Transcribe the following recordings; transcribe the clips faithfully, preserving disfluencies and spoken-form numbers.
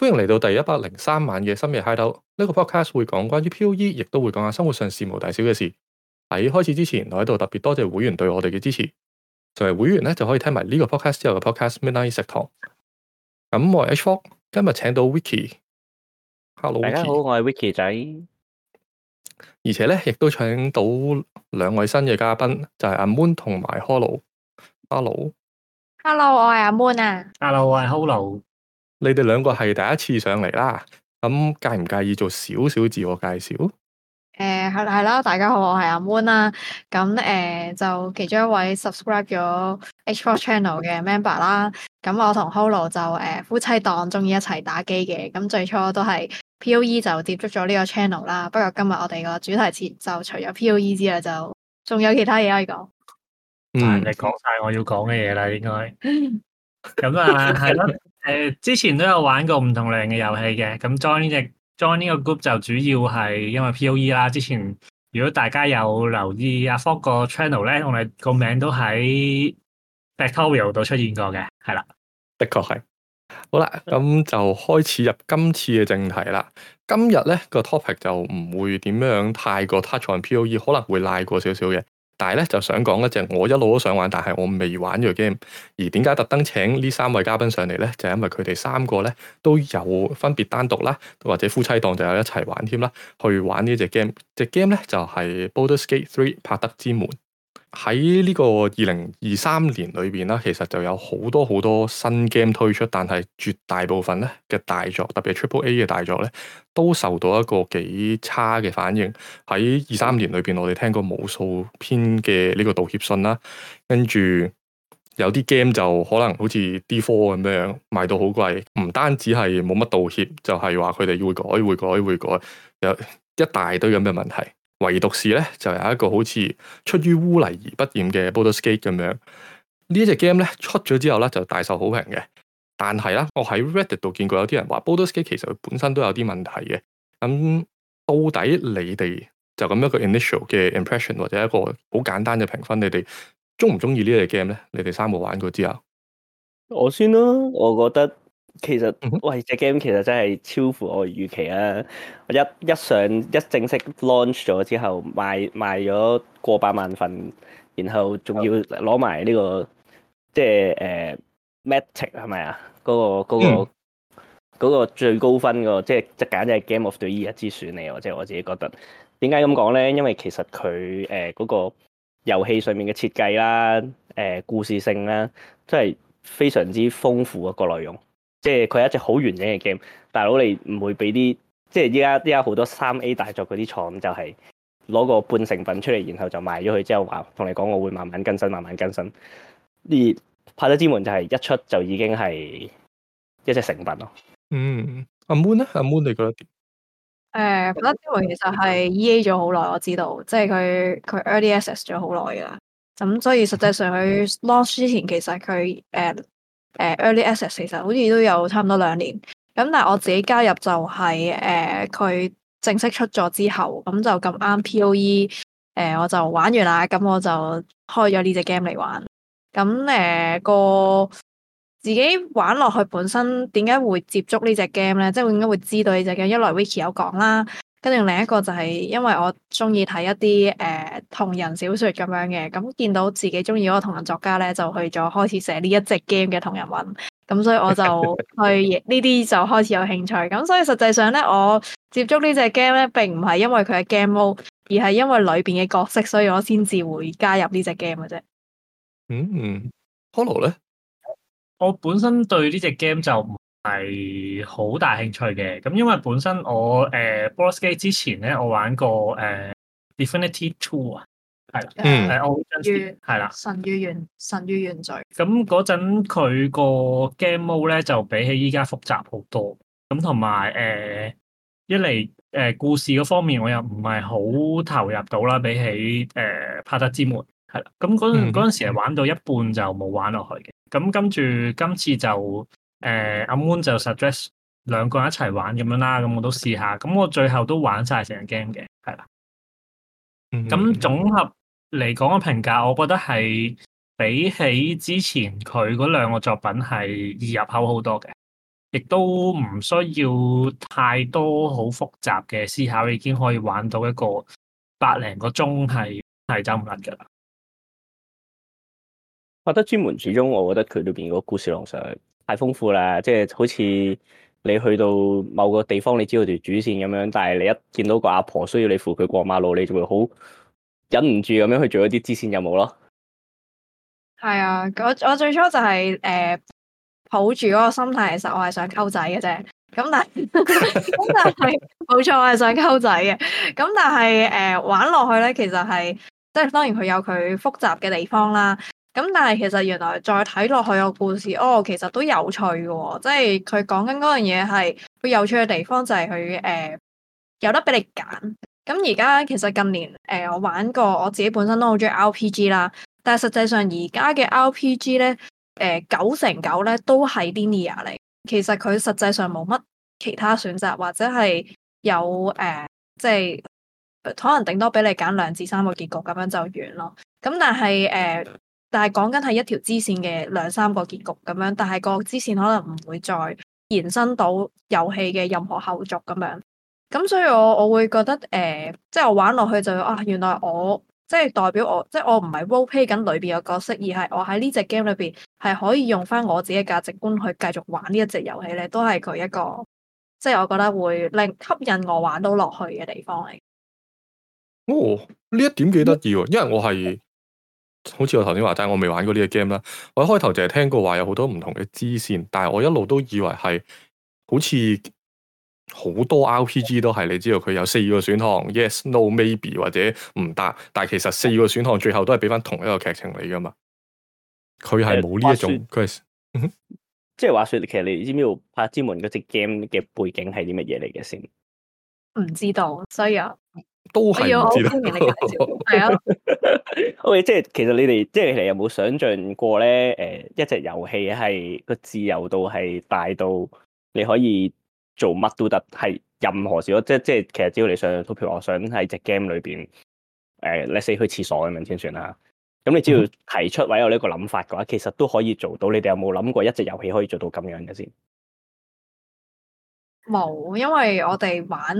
迎嚟到第一百零三晚嘅深夜 Hideout。呢個 podcast 會講關於 P O E，亦都會講下生活上事無大小嘅事。喺開始之前，我喺度特別多謝會員對我哋嘅支持。作為會員咧，就可以聽埋呢個 podcast 之後嘅 podcast Midnight 食堂。咁我係 H 四，今日請到 Vicky。Hello， 大家好，我係 Vicky 仔。 而且咧，亦都請到兩位新嘅嘉賓，就係、是、阿 Moon 同埋 Holo。 Hello，Hello，我係阿 Moon 啊。 Hello，我係 Holo。 你哋兩個係第一次上嚟啦，咁介唔介意做少少自我介紹？誒、 呃，係係啦，大家好，我係阿 Moon 啦。咁誒、呃，就其中一位 subscribe 咗 H 四 channel 嘅 member 啦。咁我同 Holo 就誒、呃、夫妻檔，中意一齊打機嘅。咁最初都係 P O E 就接觸咗呢個 channel 啦。不過今日我哋個主題詞就除咗 P O E 之外，就仲有其他嘢可以講。 嗯，你講晒我要講嘅嘢啦，應該。咁啊，係咯。誒，之前都有玩過唔同類型嘅遊戲嘅，咁 join 呢隻 join 呢個 group 就主要係因為 P O E 啦。之前如果大家有留意阿 Fok 個 channel 咧，我哋個名都喺 Factorial 度出現過嘅，係啦， 的確係。好啦，咁就開始入今次嘅正題啦。今日咧個 topic 就唔會點樣太過 touch on P O E，可能會賴過少少嘅。但係咧就想講一隻我一路都想玩，但係我未玩嘅 game。而點解特登請呢三位嘉賓上嚟咧？就係因為佢哋三個咧都有分別單獨啦，或者夫妻檔就有一齊玩添啦，去玩呢隻 game。隻 game 咧就係 Baldur's Gate 三柏德之門。喺呢個二零二三年裏邊啦，其實就有好多好多新 game 推出，但係絕大部分咧嘅大作，特別係 Triple A 嘅大作咧，都受到一個幾差嘅反應。喺二三年裏邊，我哋聽過無數篇嘅呢個道歉信啦，跟住有啲 game 就可能好似 D 四 咁樣賣到好貴，唔單止係冇乜道歉，就係話佢哋會改、會改、會改，有一大堆咁嘅問題。唯獨是咧，就有一個好似出於污泥而不染嘅 Baldur's Gate 咁樣。呢一隻 game 咧出咗之後咧，就大受好評嘅。但係啦，我喺 Reddit 度見過有啲人話 Baldur's Gate 其實佢本身都有啲問題嘅。咁到底你哋就咁一個 initial 嘅 impression 或者一個好簡單嘅評分，你哋中唔中意呢隻 game 咧？你哋三個玩過之後， 我先啦，我覺得。其實喂，隻 game 其實真係超乎我預期啊！我一一上一正式 launch 咗之後，賣賣咗過百萬份，然後仲要攞埋呢個即係誒 Matic 係咪啊？嗰個嗰個嗰個最高分個，即係即係簡直係 Game of the Year 之選嚟，或者我自己覺得。點解咁講咧？因為其實佢誒嗰個遊戲上面嘅設計啦，誒故事性啦，真係非常之豐富一個內容。即係佢係一隻好完整嘅 game，大佬你唔會俾啲即係依家依家好多三 A 大作嗰啲廠就係攞個半成品出嚟，然後就賣咗佢之後話同你講我會慢慢更新，慢慢更新。而柏德之門就係一出就已經係一隻成品咯。 嗯，阿 Moon 咧，阿 Moon 你覺得點？ 誒，柏德之門其實係 E A 咗好耐，我知道，即係佢佢 Early Access 咗好耐噶啦。咁所以實際上佢 launch 之前，其實佢誒。呃誒、uh, early access 其實好似都有差唔多兩年，咁但係我自己加入就係誒佢正式出咗之後，咁就咁啱 P O E 誒、呃、我就玩完啦，咁我就開咗呢隻 game 嚟玩，咁誒、呃、個自己玩落去本身點解會接觸呢隻 game 咧？即係點解會知道呢隻 game？一來 Vicky 有講啦。跟住另一個就係因為我中意睇一啲誒、呃、同人小說咁樣嘅，咁見到自己中意嗰個同人作家咧，就去咗開始寫呢一隻 game 嘅同人文，咁所以我就去呢啲就開始有興趣。咁所以實際上咧，我接觸呢隻 game 咧，並唔係因為佢係 game mode，而係因為裏邊嘅角色，所以我先至會加入呢隻 game 嘅啫。 嗯，Holo 咧， 我本身對呢隻 game 就唔係好大興趣嘅，咁因為本身我誒 Baldur's Gate 之前咧，我玩過誒、呃、Divinity Two 啊，係啦， 嗯， 誒我係啦， 神與原神與原罪。 咁嗰陣佢個 game mode 咧就比起依家複雜好多，咁同埋誒一嚟誒、呃、故事嗰方面我又唔係好投入到啦，比起誒柏德之門係啦，咁嗰陣嗰陣時係玩到一半就冇玩落去嘅，咁跟住今次就。誒阿 Moon 就 suggest 兩個人一齊玩咁樣啦，咁我都試下，咁我最後都玩晒成個 game 嘅，係啦。咁、嗯、總合嚟講嘅評價，我覺得係比起之前佢嗰兩個作品係易入口好多嘅。 亦都唔需要太多好複雜嘅思考，已經可以玩到一個百零個鐘係係走唔甩㗎啦。 拍得專門始終，我覺得佢裏邊個故事路上太豐富啦，即係好似你去到某個地方，你知道條主線咁樣，但係你一見到個阿婆需要你扶佢過馬路，你就會好忍唔住咁樣去做一啲支線任務咯。 係啊，我我最初就係、是、誒、呃、抱住嗰個心態，其實我係想溝仔嘅啫。咁但係咁但係冇錯，我係想溝仔嘅。咁但係誒、呃、玩落去咧，其實係即係當然佢有佢複雜嘅地方啦。咁但係其實原來再睇落去個故事，哦，其實都有趣嘅喎、哦。即係佢講緊嗰樣嘢係佢有趣嘅地方就係佢誒有得俾你揀。咁而家其實近年誒、呃、我玩過，我自己本身都好中意 R P G 啦。但係實際上而家嘅 R P G 咧，誒、呃、九成九咧都係 linear 嚟。其實佢實際上冇乜其他選擇，或者係有誒、呃，即係可能頂多俾你揀兩至三個結局咁樣就完咯。咁但係誒。呃但係講緊係一條支線嘅兩三個結局咁樣，但係個支線可能唔會再延伸到遊戲嘅任何後續咁樣。咁所以我我會覺得誒、呃，即係我玩落去就啊，原來我即係代表我，即係我唔係 role play 緊裏邊嘅角色，而係我喺呢隻 game 裏邊係可以用翻我自己嘅價值觀去繼續玩呢一隻遊戲咧，都係佢一個即係我覺得會令吸引我玩到落去嘅地方嚟。 哦，呢一點幾得意喎，因為我係。好似我頭先話齋，我未玩過呢個 game 啦。我一開頭淨係聽過話有好多唔同嘅支線，但係我一路都以為係好似好多 R P G 都係你知道佢有四個選項 ，yes、no、maybe 或者唔答，但係其實四個選項最後都係俾翻同一個劇情嚟噶嘛。佢係冇呢一種，佢係即係話說，其實你知唔知道《拍之門》嗰隻 game 嘅背景係啲乜嘢嚟嘅先？ 唔知道，所以啊。 都係唔知道。 係啊 ，OK，即係其實你哋即係你有冇想象過咧？誒、呃，一隻遊戲係個自由度係大到你可以做乜都得，係任何事咯。即係即係，其實只要你想，譬如我想喺隻 game 裏邊，誒、呃，你死去廁所咁樣先算啦。咁你只要提出或者有呢個諗法嘅話，其實都可以做到。你哋有冇諗過一隻遊戲可以做到咁樣嘅先？ 冇，因為我哋玩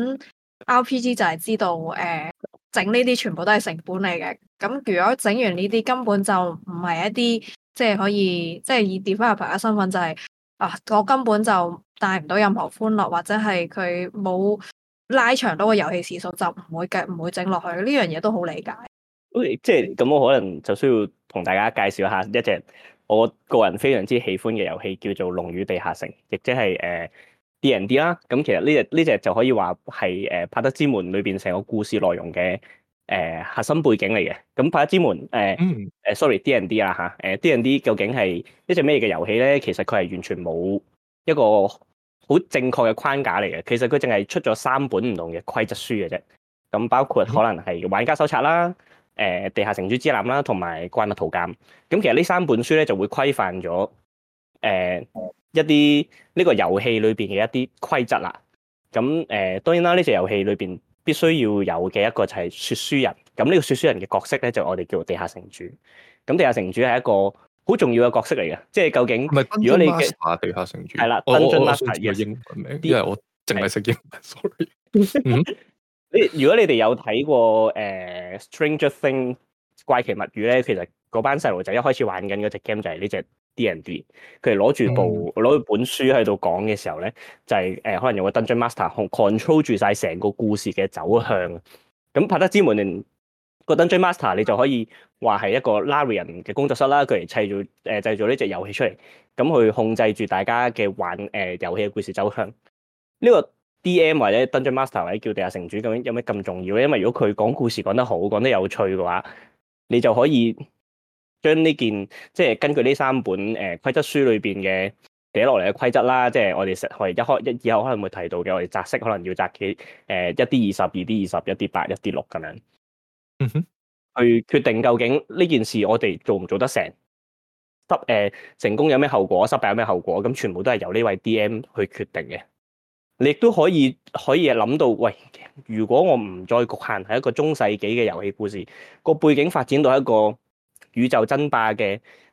R P G 就係知道，誒整呢啲全部都係成本嚟嘅。咁如果整完呢啲根本就唔係一啲即係可以，即係以 developer 嘅身份就係、是、啊，我根本就帶唔到任何歡樂，或者係佢冇拉長到個遊戲時數，就唔會計唔會整落去。呢樣嘢都好理解。 OK，即係咁，我可能就需要同大家介紹一下一隻我個人非常之喜歡嘅遊戲，叫做《龍與地下城》，亦即係誒 D and D 啦。咁其實呢隻呢隻就可以話係誒《拍得之門》裏邊成個故事內容嘅誒、呃、核心背景嚟嘅。咁《拍得之門》誒、呃、誒、 嗯呃、sorry D and D 啦嚇，誒 D and D 究竟係一隻咩嘅遊戲咧？其實佢係完全冇一個好正確嘅框架嚟嘅。其實佢淨係出咗三本唔同嘅規則書嘅啫。咁包括可能係玩家手冊啦。誒地下城主之艦啦，同埋怪物圖鑑。咁其實呢三本書咧就會規範咗誒、呃、一啲呢個遊戲裏邊嘅一啲規則啦。咁誒、呃、當然啦，呢隻遊戲裏邊必須要有嘅一個就係說書人。咁呢個說書人嘅角色咧就我哋叫做地下城主。咁地下城主係一個好重要嘅角色嚟嘅，即係究竟如果你嘅地下城主係啦， 我我我我想知個英文名，因為我淨係識英文，sorry。 你如果你哋有睇過誒、呃《Stranger Things》怪奇物語咧，其實嗰班細路仔一開始玩緊嗰隻 game 就係呢隻 D and D， 佢哋攞住部攞住、嗯、本書喺度講嘅時候咧，就係、是、誒、呃、可能有個 Dungeon Master control 住晒成個故事嘅走向。咁拍得之門個 Dungeon Master 你就可以話係一個 Larian 嘅工作室啦，佢嚟砌造誒、呃、製造呢隻遊戲出嚟，咁去控制住大家嘅玩誒、呃、遊戲嘅故事走向。呢、這個 D M 或者 Dungeon Master 或者叫地下城主，究竟有咩咁重要咧？因為如果佢講故事講得好，講得有趣嘅話，你就可以將呢件即係根據呢三本誒規則書裏邊嘅寫落嚟嘅規則啦，即係我哋實我哋一開一以後可能會提到嘅，我哋擲色可能要擲幾誒一 D 二十、二 D 二十、一 D 八、一 D 六咁樣， 嗯哼， 去決定究竟呢件事我哋做唔做得成，失誒成功有咩後果，失敗有咩後果，咁全部都係由呢位 D M 去決定嘅。你亦都可以可以諗到，喂，如果我唔再局限係一個中世紀嘅遊戲故事，個背景發展到一個宇宙爭霸嘅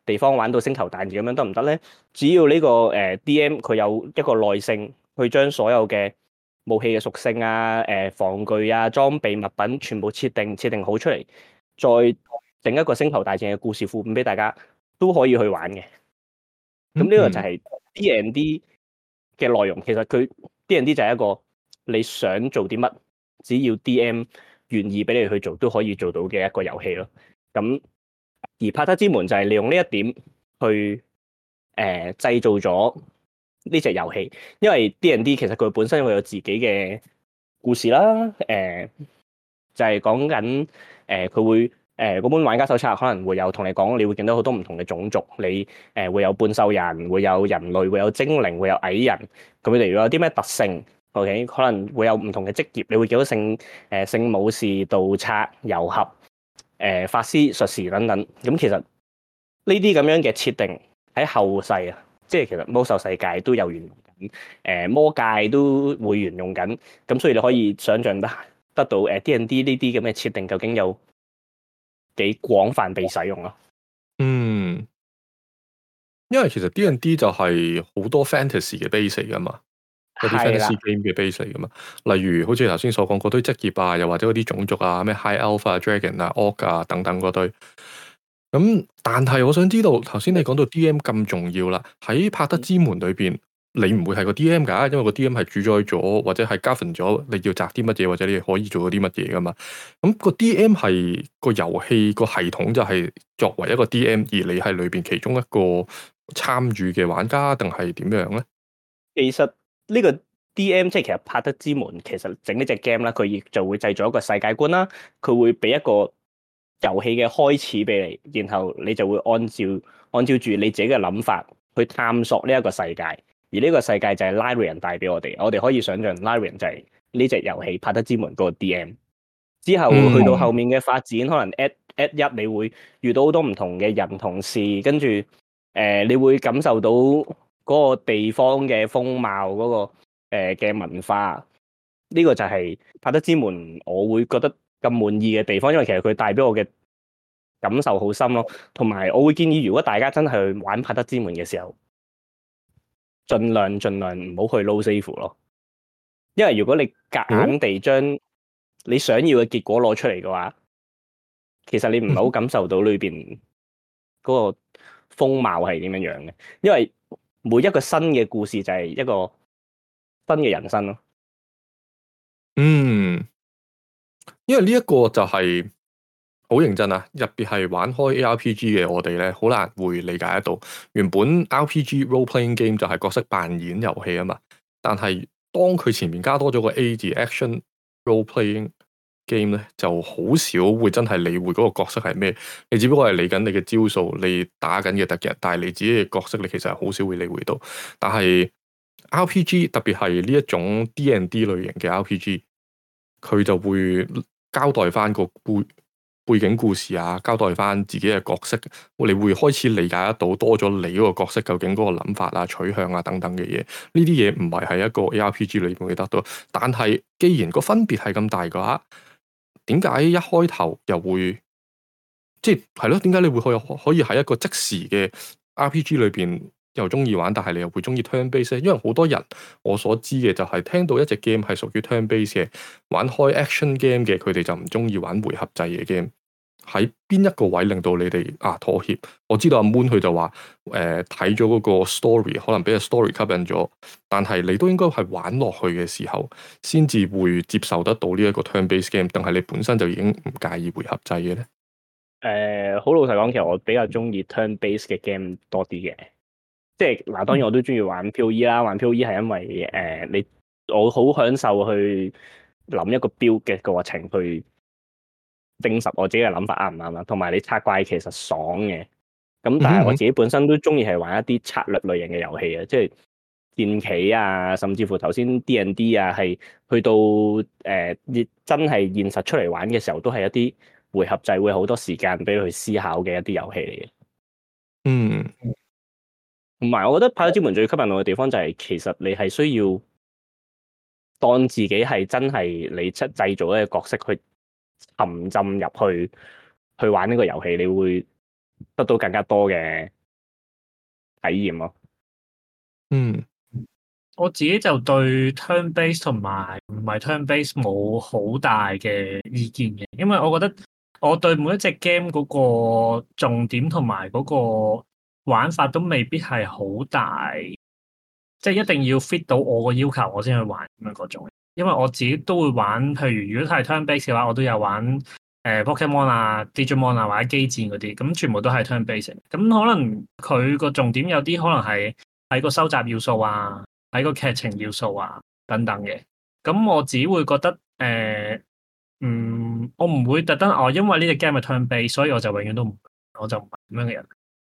地方玩到星球大戰咁樣得唔得咧？只要呢、這個誒、呃、D M 佢有一個耐性去將所有嘅武器嘅屬性啊、誒、呃、防具啊、裝備物品全部設定設定好出嚟，再整一個星球大戰嘅故事副本俾大家都可以去玩嘅。咁呢個就係 D and D 嘅內容。其實佢 D and D 就係一個你想做啲乜，只要 D M 願意俾你去做，都可以做到嘅一個遊戲咯。咁而帕特之門就係利用呢一點去誒、呃、製造咗呢隻遊戲，因為 D and D 其實佢本身會有自己嘅故事啦，誒、呃、就係講緊誒佢會誒嗰、呃、本玩家手冊可能會有同你講，你會見到好多唔同嘅種族，你誒、呃、會有半獸人，會有人類，會有精靈，會有矮人，咁佢哋有啲咩特性 ？OK， 可能會有唔同嘅職業，你會見到聖誒聖武士、盜賊、遊俠、誒、呃、法師、術士等等。咁其實呢啲咁樣嘅設定喺後世啊，即係其實魔獸世界都有沿用緊，誒、呃、魔界都會沿用緊。咁所以你可以想象得得到誒 D and D 呢啲咁嘅設定究竟有幾廣泛被使用咯。 嗯，因為其實 D and D 就係好多 fantasy 嘅 base 嚟噶嘛，嗰啲 fantasy game 嘅 base 嚟噶嘛。例如好似頭先所講嗰堆職業啊，又或者嗰啲種族啊，咩 High Elf 啊、Dragon 啊、Orc 啊等等嗰堆。咁但係我想知道，頭先你講到 D M 咁重要啦，喺帕德之門裏邊，你唔會係個 D M 㗎，因為個 D M 係主宰咗或者係 govern 咗你要摘啲乜嘢，或者你可以做到啲乜嘢㗎嘛。咁個 D M 係個遊戲個系統就係作為一個 D M，而你係裏邊其中一個參與嘅玩家，定係點樣咧？ 其實呢個 D M 即係其實帕德之門，其實整呢隻 game 啦，佢亦就會製造一個世界觀啦，佢會俾一個遊戲嘅開始俾你，然後你就會按照按照住你自己嘅諗法去探索呢一個世界，而呢個世界就係 Larian 帶俾我哋，我哋可以想象 Larian 就係呢隻遊戲帕德之門嗰個 D M。之後去到後面嘅發展，嗯、可能 at at 一你會遇到好多唔同嘅人同事，跟住誒你會感受到嗰個地方嘅風貌，嗰、嗰個誒嘅、呃、文化，呢、呢個就係帕德之門，我會覺得咁滿意嘅地方，因為其實佢帶俾我嘅感受好深咯，同埋我會建議，如果大家真係去玩帕德之門嘅時候，盡量盡量唔好去 low save 咯，因為如果你夾硬地將你想要嘅結果攞出嚟嘅話，其實你唔係好感受到裏邊嗰個風貌係點樣樣嘅，因為每一個新嘅故事就係一個新嘅人生咯。 嗯，因為呢一個就係好認真啊，入邊係玩開 A R P G 嘅我哋咧，好難會理解得到。原本 R P G role playing game 就係角色扮演遊戲啊嘛，但係當佢前面加多咗個 A 字 action role playing game 咧，就好少會真係理會嗰個角色係咩，你只不過係理緊你嘅招數，你打緊嘅敵人，但係你自己嘅角色你其實係好少會理會到。但係 R P G 特別係呢一種 D and D 類型嘅 R P G，佢就會交代翻個背背景故事啊，交代翻自己嘅角色，你會開始理解得到多咗你嗰個角色究竟嗰個諗法啊、取向啊等等嘅嘢。呢啲嘢唔係喺一個 A R P G 裏面會得到，但係既然個分別係咁大嘅話，點解一開頭又會即係係咯？點解你會可以可以喺一個即時嘅 R P G 裏邊又中意玩，但係你又會中意 turn base 咧？因為好多人我所知嘅就係聽到一隻 game 係屬於 turn base 嘅，玩開 action game 嘅，佢哋就唔中意玩回合制嘅 game。喺邊一個位令到你哋啊妥協？我知道阿 Moon 佢就話誒睇咗嗰個 story，可能俾個 story 吸引咗，但係你都應該係玩落去嘅時候，先至會接受得到呢一個 turn base game，定係你本身就已經唔介意回合制嘅咧？誒、 呃，好老實講，其實我比較中意 turn base 嘅 game 多啲嘅，即係嗱，當然我都中意玩 P O E 啦，玩 P O E 係因為誒、呃、你我好享受去諗一個 build 嘅過程去。證實我自己嘅諗法啱唔啱啦，同埋你拆怪其實爽嘅，咁但係我自己本身都中意係玩一啲策略類型嘅遊戲啊，即係戰棋啊，甚至乎頭先 D and D 啊，係去到誒、呃、真係現實出嚟玩嘅時候，都係一啲回合制，會好多時間俾你去思考嘅一啲遊戲嚟嘅。 嗯， 同埋我覺得《帕德之門》最吸引我嘅地方就係，其實你係需要當自己係真係你出製造一個角色去沉浸入去去玩呢個遊戲，你會得到更加多嘅體驗咯。 嗯， 我自己就對 turn base 同埋唔係 turn base 冇好大嘅意見嘅，因為我覺得我對每一隻 game 嗰個重點同埋嗰個玩法都未必係好大，即係一定要 fit 到我個要求我先去玩咁樣嗰種。因為我自己都會玩，譬如如果係 turn base 嘅話，我都有玩誒、呃、Pokemon 啊、Digimon 啊或者機戰嗰啲，咁全部都係 turn base。咁可能佢個重點有啲可能係喺個收集要素啊，喺個劇情要素啊等等嘅。咁我只會覺得誒、呃，嗯，我唔會特登哦，因為呢隻 game 係 turn base，所以我就永遠都唔，我就唔係咁樣嘅人。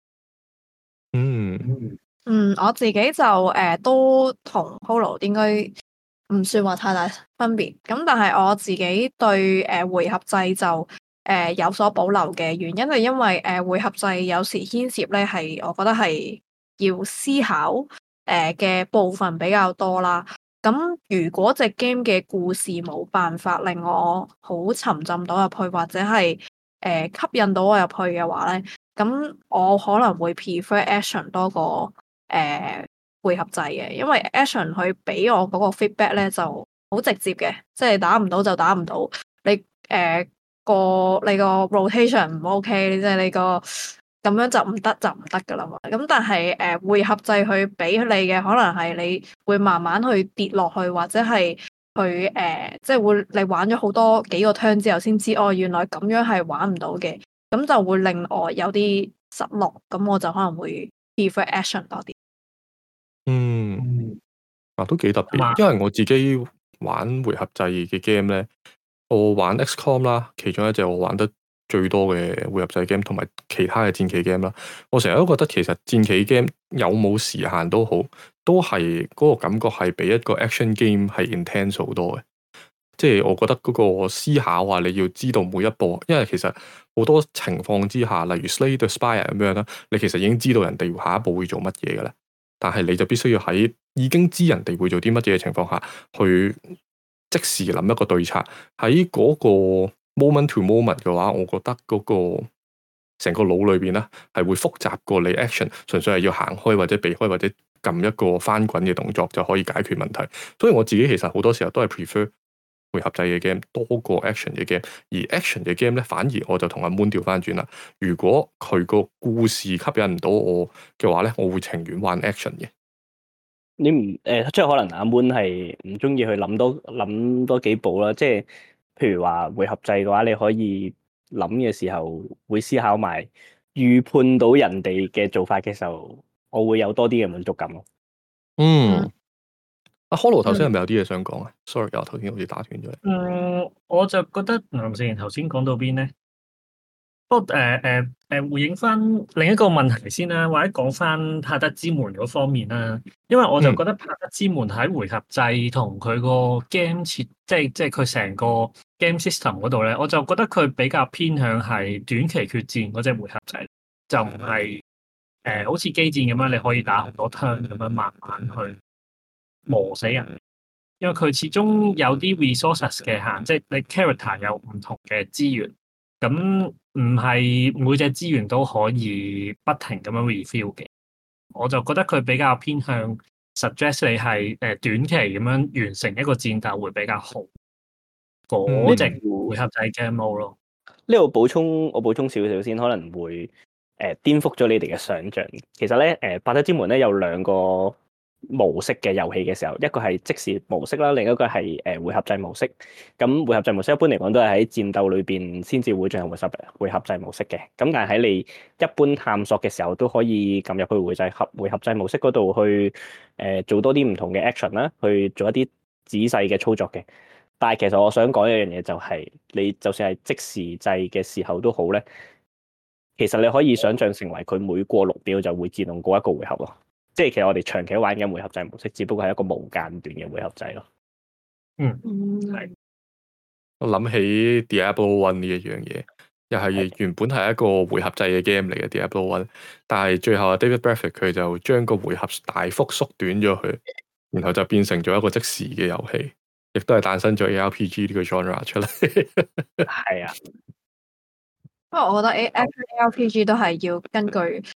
嗯嗯，我自己就誒、呃、都同 Holo 應該唔算話太大分別，咁但係我自己對誒、呃、回合制就誒、呃、有所保留嘅原因係因為誒、呃、回合制有時牽涉咧係我覺得係要思考誒嘅、呃、部分比較多啦。咁如果隻 game 嘅故事冇辦法令我好沉浸到入去，或者係誒、呃、吸引到我入去嘅話咧，咁我可能會 prefer action 多過誒、呃、回合制嘅，因為 action 佢俾我嗰個 feedback 咧就好直接嘅，即係打唔到就打唔到，你誒、呃、個你個 rotation 唔 OK，即係你個咁樣就唔得就唔得噶啦嘛。咁但係誒、呃、回合制佢俾你嘅可能係你會慢慢去跌落去，或者係去誒、呃、即係會你玩咗好多幾個 turn 之後先知哦，原來咁樣係玩唔到嘅。咁就會令我有啲失落，咁我就可能會 prefer action 多啲。 嗯，啊都幾特別，因為我自己玩回合制嘅 game 咧，我玩 X COM 啦，其中一隻我玩得最多嘅回合制 game，同埋其他嘅戰棋 game 啦。我成日都覺得其實戰棋 game 有冇時限都好，都係嗰個感覺係比一個 action game 係 intense 好多嘅。即係我覺得嗰個思考啊，你要知道每一步，因為其實好多情況之下，例如 Slay the Spire 咁樣啦，你其實已經知道人哋下一步會做乜嘢㗎啦，但係你就必須要喺已經知人哋會做啲乜嘢嘅情況下，去即時諗一個對策。喺嗰個 moment to moment 嘅話，我覺得嗰個成個腦裏邊咧係會複雜過你 action，純粹係要行開或者避開或者撳一個翻滾嘅動作就可以解決問題。所以我自己其實好多時候都係 prefer回合制嘅 game 多過 action 嘅 game，而 action 嘅 game 咧，反而我就同阿 Moon 調翻轉啦。如果佢個故事吸引唔到我嘅話咧，我會情願玩 action 嘅。 你唔誒、呃，即係可能阿 Moon 係唔中意去諗多諗多幾步啦。即係譬如話回合制嘅話，你可以諗嘅時候會思考埋預判到人哋嘅做法嘅時候，我會有多啲嘅滿足感咯。 嗯。阿 Holo 頭先係咪有啲嘢想講啊 ？Sorry，我頭先好似打斷咗你。 嗯，我就覺得林志賢頭先講到邊咧？不過誒誒誒，回應翻另一個問題先啦，或者講翻帕德之門嗰方面啦。因為我就覺得帕德之門喺回合制同佢個 game 設，即係即係佢成個 game system 嗰度咧，我就覺得佢比較偏向係短期決戰嗰隻回合制，就唔係誒好似機戰咁樣，你可以打好多 turn 咁樣慢慢去磨死人。因為佢始終有啲 resources 嘅限，即係你 character 有唔同嘅資源，咁唔係每隻資源都可以不停咁樣 refill 嘅。我就覺得佢比較偏向 suggest 你係誒短期咁樣完成一個戰鬥會比較好。嗰隻回合制 game mode 咯。 呢度補充，我補充少少先，可能會誒、呃、顛覆咗你哋嘅想像。其實咧，誒、呃《帕德之門》咧有兩個模式嘅遊戲嘅時候，一個係即時模式啦，另一個係誒、呃、回合制模式。咁回合制模式一般嚟講都係喺戰鬥裏邊先至會進行回合回合制模式嘅。咁但係喺你一般探索嘅時候，都可以撳入去回制合回合制模式嗰度去誒、呃、做多啲唔同嘅 action 啦，去做一啲仔細嘅操作嘅。但係其實我想講一樣嘢就係、是，你就算係即時制嘅時候都好咧，其實你可以想象成為佢每過六秒就會自動過一個回合咯。即係其實我哋長期玩緊回合制模式，只不過係一個無間斷嘅回合制咯。 嗯， 係。 我諗起 Diablo One 呢一樣嘢，又係原本係一個回合制嘅 game 嚟嘅 Diablo One，但係最後 David Bradford 佢就將個回合大幅縮短咗佢，然後就變成咗一個即時嘅遊戲。亦都係誕生咗 A R P G 呢個 genre 出嚟。 係啊， 不過我覺得 A R P G 都係要根據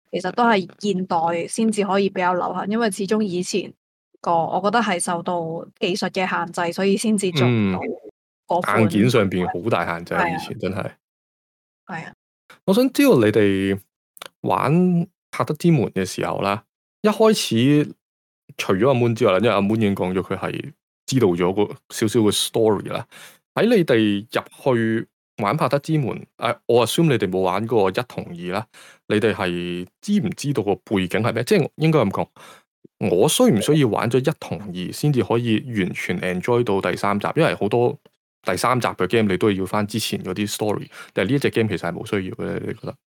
其實都係現代先至可以比較流行，因為始終以前個我覺得係受到技術嘅限制，所以先至做唔到嗰款、 嗯、硬件上邊好大限制啊！ 係啊以前真係係啊。 我想知道你哋玩《柏德之門》嘅時候啦，一開始除咗阿 Moon 之外啦，因為阿 Moon 已經講咗佢係知道咗個少少嘅 story 啦。喺你哋入去玩《柏德之門》，誒、啊，我 assume 你哋冇玩過一同二啦。你哋係知唔知道個背景係咩？即係應該咁講，我需唔需要玩咗一同二先至可以完全 enjoy 到第三集？因為好多第三集嘅 game 你都要翻之前嗰啲 story，但係呢一隻 game 其實係冇需要嘅。你覺得？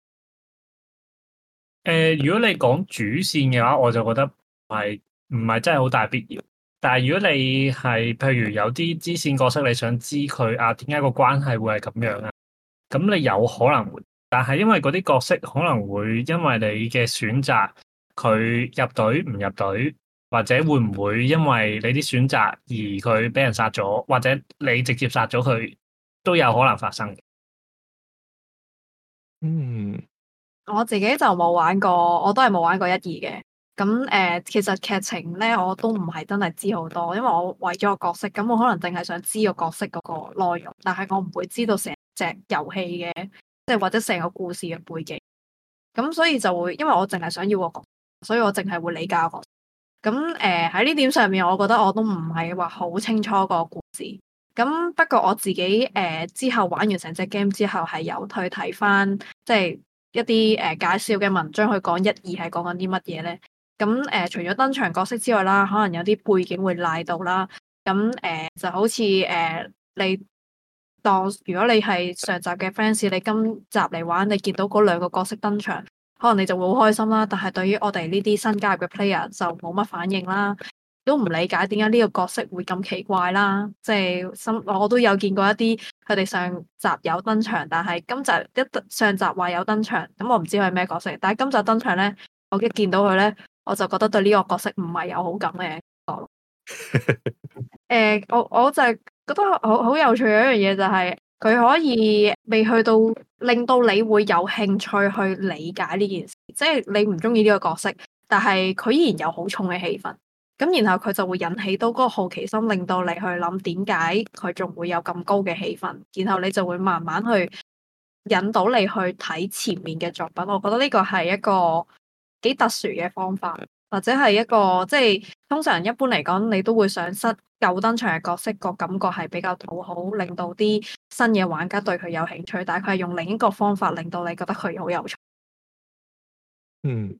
誒、呃，如果你講主線嘅話，我就覺得係唔係真係好大必要。但係如果你係譬如有啲支線角色，你想知佢啊點解個關係會係咁樣啊？咁你有可能會，但係因為嗰啲角色可能會因為你嘅選擇，佢入隊唔入隊，或者會唔會因為你啲選擇而佢俾人殺咗，或者你直接殺咗佢，都有可能發生。 嗯。 我自己就冇玩過，我都係冇玩過一二嘅。咁誒、呃，其實劇情咧我都唔係真係知好多，因為我為咗個角色，咁我可能淨係想知個角色嗰個內容，但係我唔會知道成隻遊戲嘅，即係或者成個故事嘅背景。咁所以就會，因為我淨係想要個角色，所以我淨係會理解個角色。咁誒喺呢點上面，我覺得我都唔係話好清楚個故事。咁不過我自己誒、呃、之後玩完成隻 game 之後，係有去睇翻即係一啲誒、呃、介紹嘅文章去講一二係講緊啲乜嘢咧。咁誒、呃、除咗登場角色之外啦，可能有啲背景會賴到啦。咁誒、呃、就好似誒、呃、你當如果你係上集嘅 fans，你今集嚟玩，你見到嗰兩個角色登場，可能你就會好開心啦。但係對於我哋呢啲新加入嘅 player 就冇乜反應啦，都唔理解點解呢個角色會咁奇怪啦。即係新我都有見過一啲佢哋上集有登場，但係今集一上集話有登場，咁我唔知佢係咩角色。但係今集登場咧，我一見到佢咧，我就覺得對呢個角色唔係有好感嘅感覺咯。誒，我我就係覺得好好有趣嘅一樣嘢，就係佢可以未去到令到你會有興趣去理解呢件事，即係你唔中意呢個角色，但係佢依然有好重嘅氣氛，咁然後佢就會引起到嗰個好奇心，令到你去諗點解佢仲會有咁高嘅氣氛，然後你就會慢慢去引導你去睇前面嘅作品。我覺得呢個係一個幾特殊嘅方法，或者係一個即係通常一般嚟講，你都會想失舊登場嘅角色個感覺係比較討好，令到啲新嘅玩家對佢有興趣。但係佢係用另一個方法令到你覺得佢好有趣。 嗯，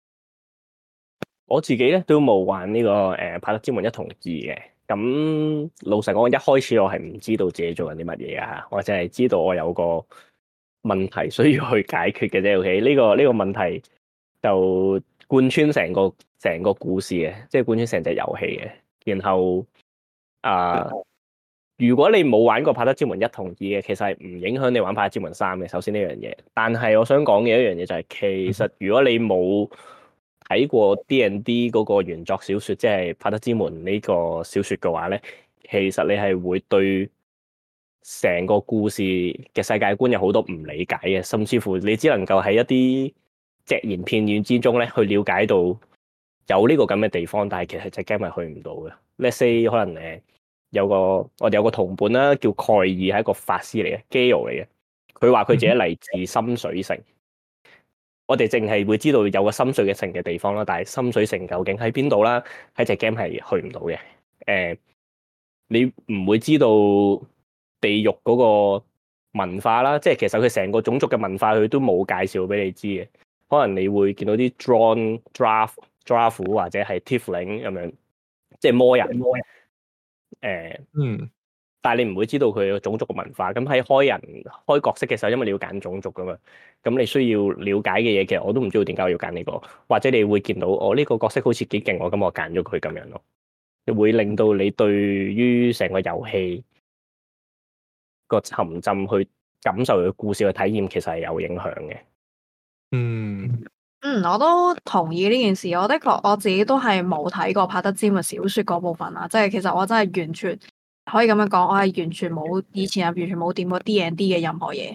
我自己咧都冇玩呢、這個誒《柏德之門》一同二嘅。咁老實講，一開始我係唔知道自己做緊啲乜嘢啊，我淨係知道我有個問題需要去解決嘅啫。OK，呢個呢、這個問題就貫穿成個成個故事嘅，即係貫穿成隻遊戲嘅。然後啊、呃，如果你冇玩過《柏德之門》一同二嘅，其實係唔影響你玩《柏德之門》三嘅。首先呢樣嘢，但係我想講嘅一樣嘢就係、是，其實如果你冇睇過 D and D 嗰個原作小説，即係《柏德之門》呢個小説嘅話咧，其實你係會對成個故事嘅世界觀有好多唔理解嘅，甚至乎你只能夠喺一啲隻言片語之中咧去了解到有呢個咁嘅地方，但係其實隻 game 係去唔到嘅。Let's say 可能誒有個我哋有個同伴啦，叫蓋爾，係一個法師嚟嘅 Gale 嚟嘅，佢話佢自己嚟自深水城。我哋淨係會知道有個深水嘅城嘅地方啦，但係深水城究竟喺邊度啦？喺隻 game 係去唔到嘅。誒、呃，你唔會知道地獄嗰個文化啦，即係其實佢成個種族嘅文化佢都冇介紹俾你知嘅。可能你會見到啲 Drow、Draft、Draft 或者係 Tiefling 咁樣，即係魔人。魔人。誒、呃，嗯。但係你唔會知道佢個種族嘅文化，咁喺開人開角色嘅時候，因為你要揀種族噶嘛，咁你需要了解嘅嘢，其實我都唔知道點解我要揀呢個，或者你會見到我呢個角色好似幾勁喎，咁我揀咗佢咁樣咯，會令到你對於成個遊戲個沉浸去感受佢故事嘅體驗，其實係有影響嘅。 嗯嗯，我都同意呢件事。我的確我自己都係冇睇過柏德之門小說嗰部分啦，即係其實我真係完全。可以咁樣講，我係完全冇以前係完全冇掂過 D and D 嘅任何嘢，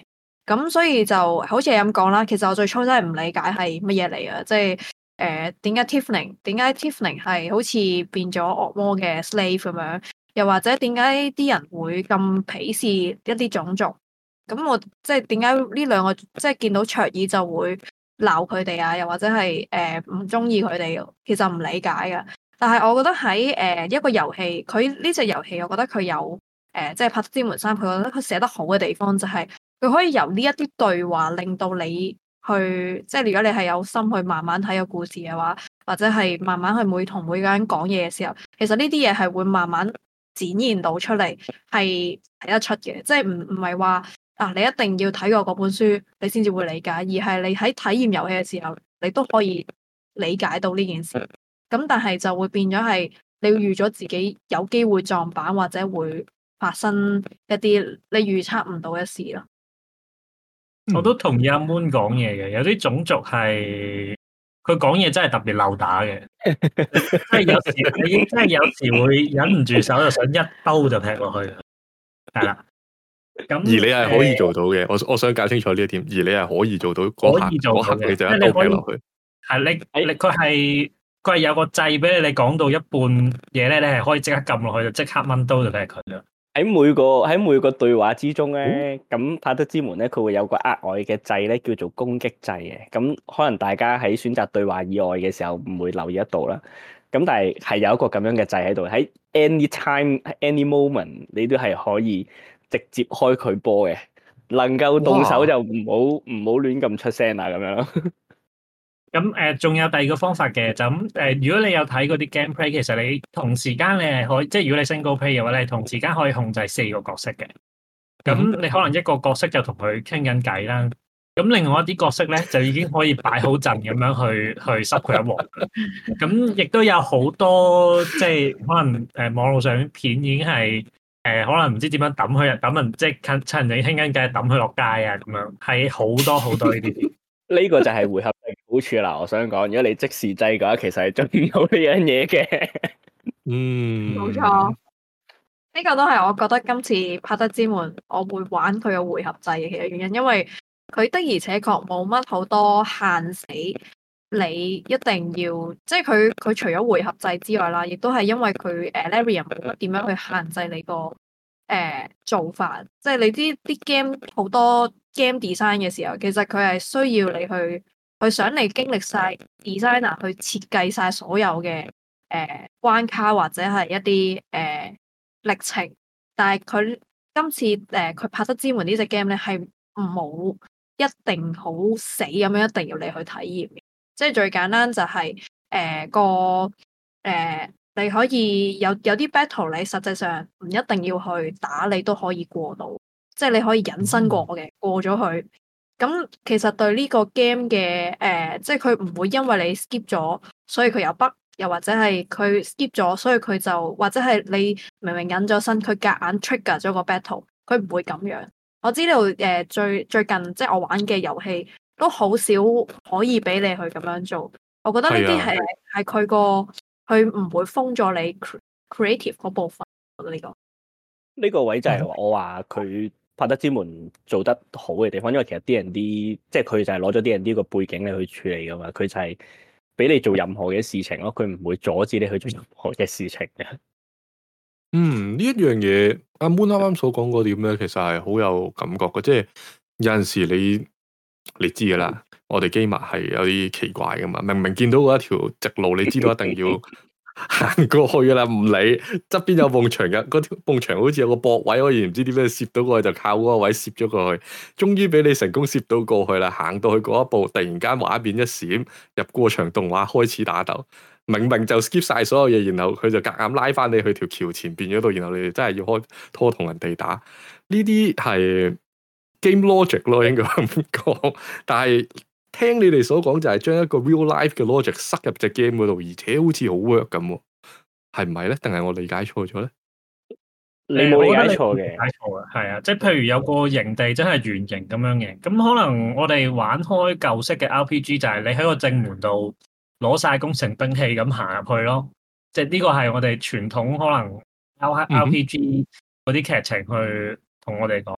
咁所以就好似你咁講啦，其實我最初真係唔理解係乜嘢嚟啊，即係誒點解 Tiefling 點解 Tiefling 係好似變咗惡魔嘅 slave 咁樣，又或者點解啲人會咁鄙視一啲種族？咁我即係點解呢兩個即係見到卓爾就會鬧佢哋啊？又或者係誒唔中意佢哋？其實唔理解噶。但係我覺得喺誒、呃、一個遊戲，佢呢隻遊戲，我覺得佢有誒、呃、即係《帕德之門三》，佢覺得佢寫得好嘅地方就係、是。佢可以由呢一啲對話令到你去，即係如果你係有心去慢慢睇個故事嘅話，或者係慢慢去每同每個人講嘢嘅時候，其實呢啲嘢係會慢慢展現到出嚟，係睇得出嘅。即係唔唔係話啊，你一定要睇過嗰本書你先至會理解，而係你喺體驗遊戲嘅時候，你都可以理解到呢件事。咁但係就會變咗係你要預咗自己有機會撞板或者會發生一啲你預測唔到嘅事咯。 我都同意阿 Moon 講嘢嘅，有啲種族係佢講嘢真係特別漏打嘅，即係有時你真係有時會忍唔住手，就想一刀就劈落去，係啦。咁而你係可以做到嘅，我我想搞清楚呢一點。而你係可以做到嗰下嗰刻你就一刀劈落去。係你你佢係佢係有個掣俾你，你講到一半嘢咧，你係可以即刻撳落去就即刻掹刀就劈佢啦。 喺每個喺每個對話之中咧，咁帕德之門咧，佢會有個額外嘅掣咧，叫做攻擊掣嘅。咁可能大家喺選擇對話以外嘅時候唔會留意得到啦。咁但係係有一個咁樣嘅掣喺度，喺 any time any moment 你都係可以直接開佢波嘅。能夠動手就唔好唔好亂咁出聲啦，咁樣咯。 咁誒，仲、呃、有第二個方法嘅，就咁誒、呃。如果你有睇嗰啲 gameplay，其實你同時間你係可以，即係如果你 single play 嘅話，你同時間可以控制四個角色嘅。咁你可能一個角色就同佢傾緊偈啦。咁另外一啲角色咧，就已經可以擺好陣咁樣去去濕佢一鑊。咁亦都有好多即係可能誒、呃、網絡上片已經係誒、呃、可能唔知點樣抌佢，抌人即係趁趁人哋傾緊偈抌佢落街啊咁樣，係好多好多呢啲。 呢個就係回合制嘅好處啦，我想講，如果你即時制嘅話，其實係做唔到呢樣嘢嘅。 嗯， 冇錯，呢個都係我覺得今次帕德之門我會玩佢嘅回合制嘅其實原因，因為佢的而且確冇乜好多限死，你一定要即係佢佢除咗回合制之外啦，亦都係因為佢誒 Larian 冇乜點樣去限制你個誒、呃、做法，即係你知啲 game 好多。game design 嘅時候，其實佢係需要你去去想你經歷晒 designer 去設計晒所有嘅誒、呃、關卡或者係一啲誒、呃、歷程，但係佢今次誒佢帕德之門呢隻 game 咧係冇一定好死咁樣一定要你去體驗嘅，即係最簡單就係、是、誒、呃、個誒、呃、你可以有有啲 battle 你實際上唔一定要去打你都可以過到。即係你可以隱身過嘅，過咗去。咁其實對呢個 game 嘅誒、呃，即係佢唔會因為你 skip 咗，所以佢有 bug，又或者係佢 skip 咗，所以佢就或者係你明明隱咗身，佢夾硬 trigger 咗個 battle，佢唔會咁樣。我知道誒、呃、最最近即係我玩嘅遊戲都好少可以俾你去咁樣做。我覺得呢啲係係佢個佢唔會封咗你 creative 嗰部分。呢、呢個呢個位就係我話佢。帕德之門做得好嘅地方，因為其實 D and D 即係佢就係攞咗 D and D 個背景嚟去處理噶嘛，佢就係俾你做任何嘅事情咯，佢唔會阻止你去做任何嘅事情嘅。 嗯，呢一樣嘢阿 Moon 啱啱所講嗰點咧，其實係好有感覺嘅，即係有陣時你你知噶啦，我哋 gamer 係有啲奇怪噶嘛，明明見到嗰一條直路，你知道一定要。行過去噶啦，唔理側邊有埲牆嘅，嗰條埲牆好似有個駁位，可以唔知點樣攝到過去，就靠嗰個位攝咗過去。終於俾你成功攝到過去啦，行到去嗰一步，突然間畫面一閃，入過場動畫開始打鬥。明明就 skip 晒所有嘢，然後佢就夾硬拉翻你去條橋前邊嗰度，然後你哋真係要開拖同人哋打。呢啲係 game logic 咯，應該咁講，但係。聽你哋所講就係將一個 real life 嘅 logic 塞入隻 game 嗰度，而且好似好 work 咁，係唔係咧？定係我理解錯咗咧？ 你冇理解錯嘅， 理解錯啊，係啊，即係譬如有個營地真係圓形咁樣嘅，咁可能我哋玩開舊式嘅 R P G 就係你喺個正門度攞晒攻城兵器咁行入去咯，即係呢個係我哋傳統可能 R P G 嗰啲劇情去同我哋講。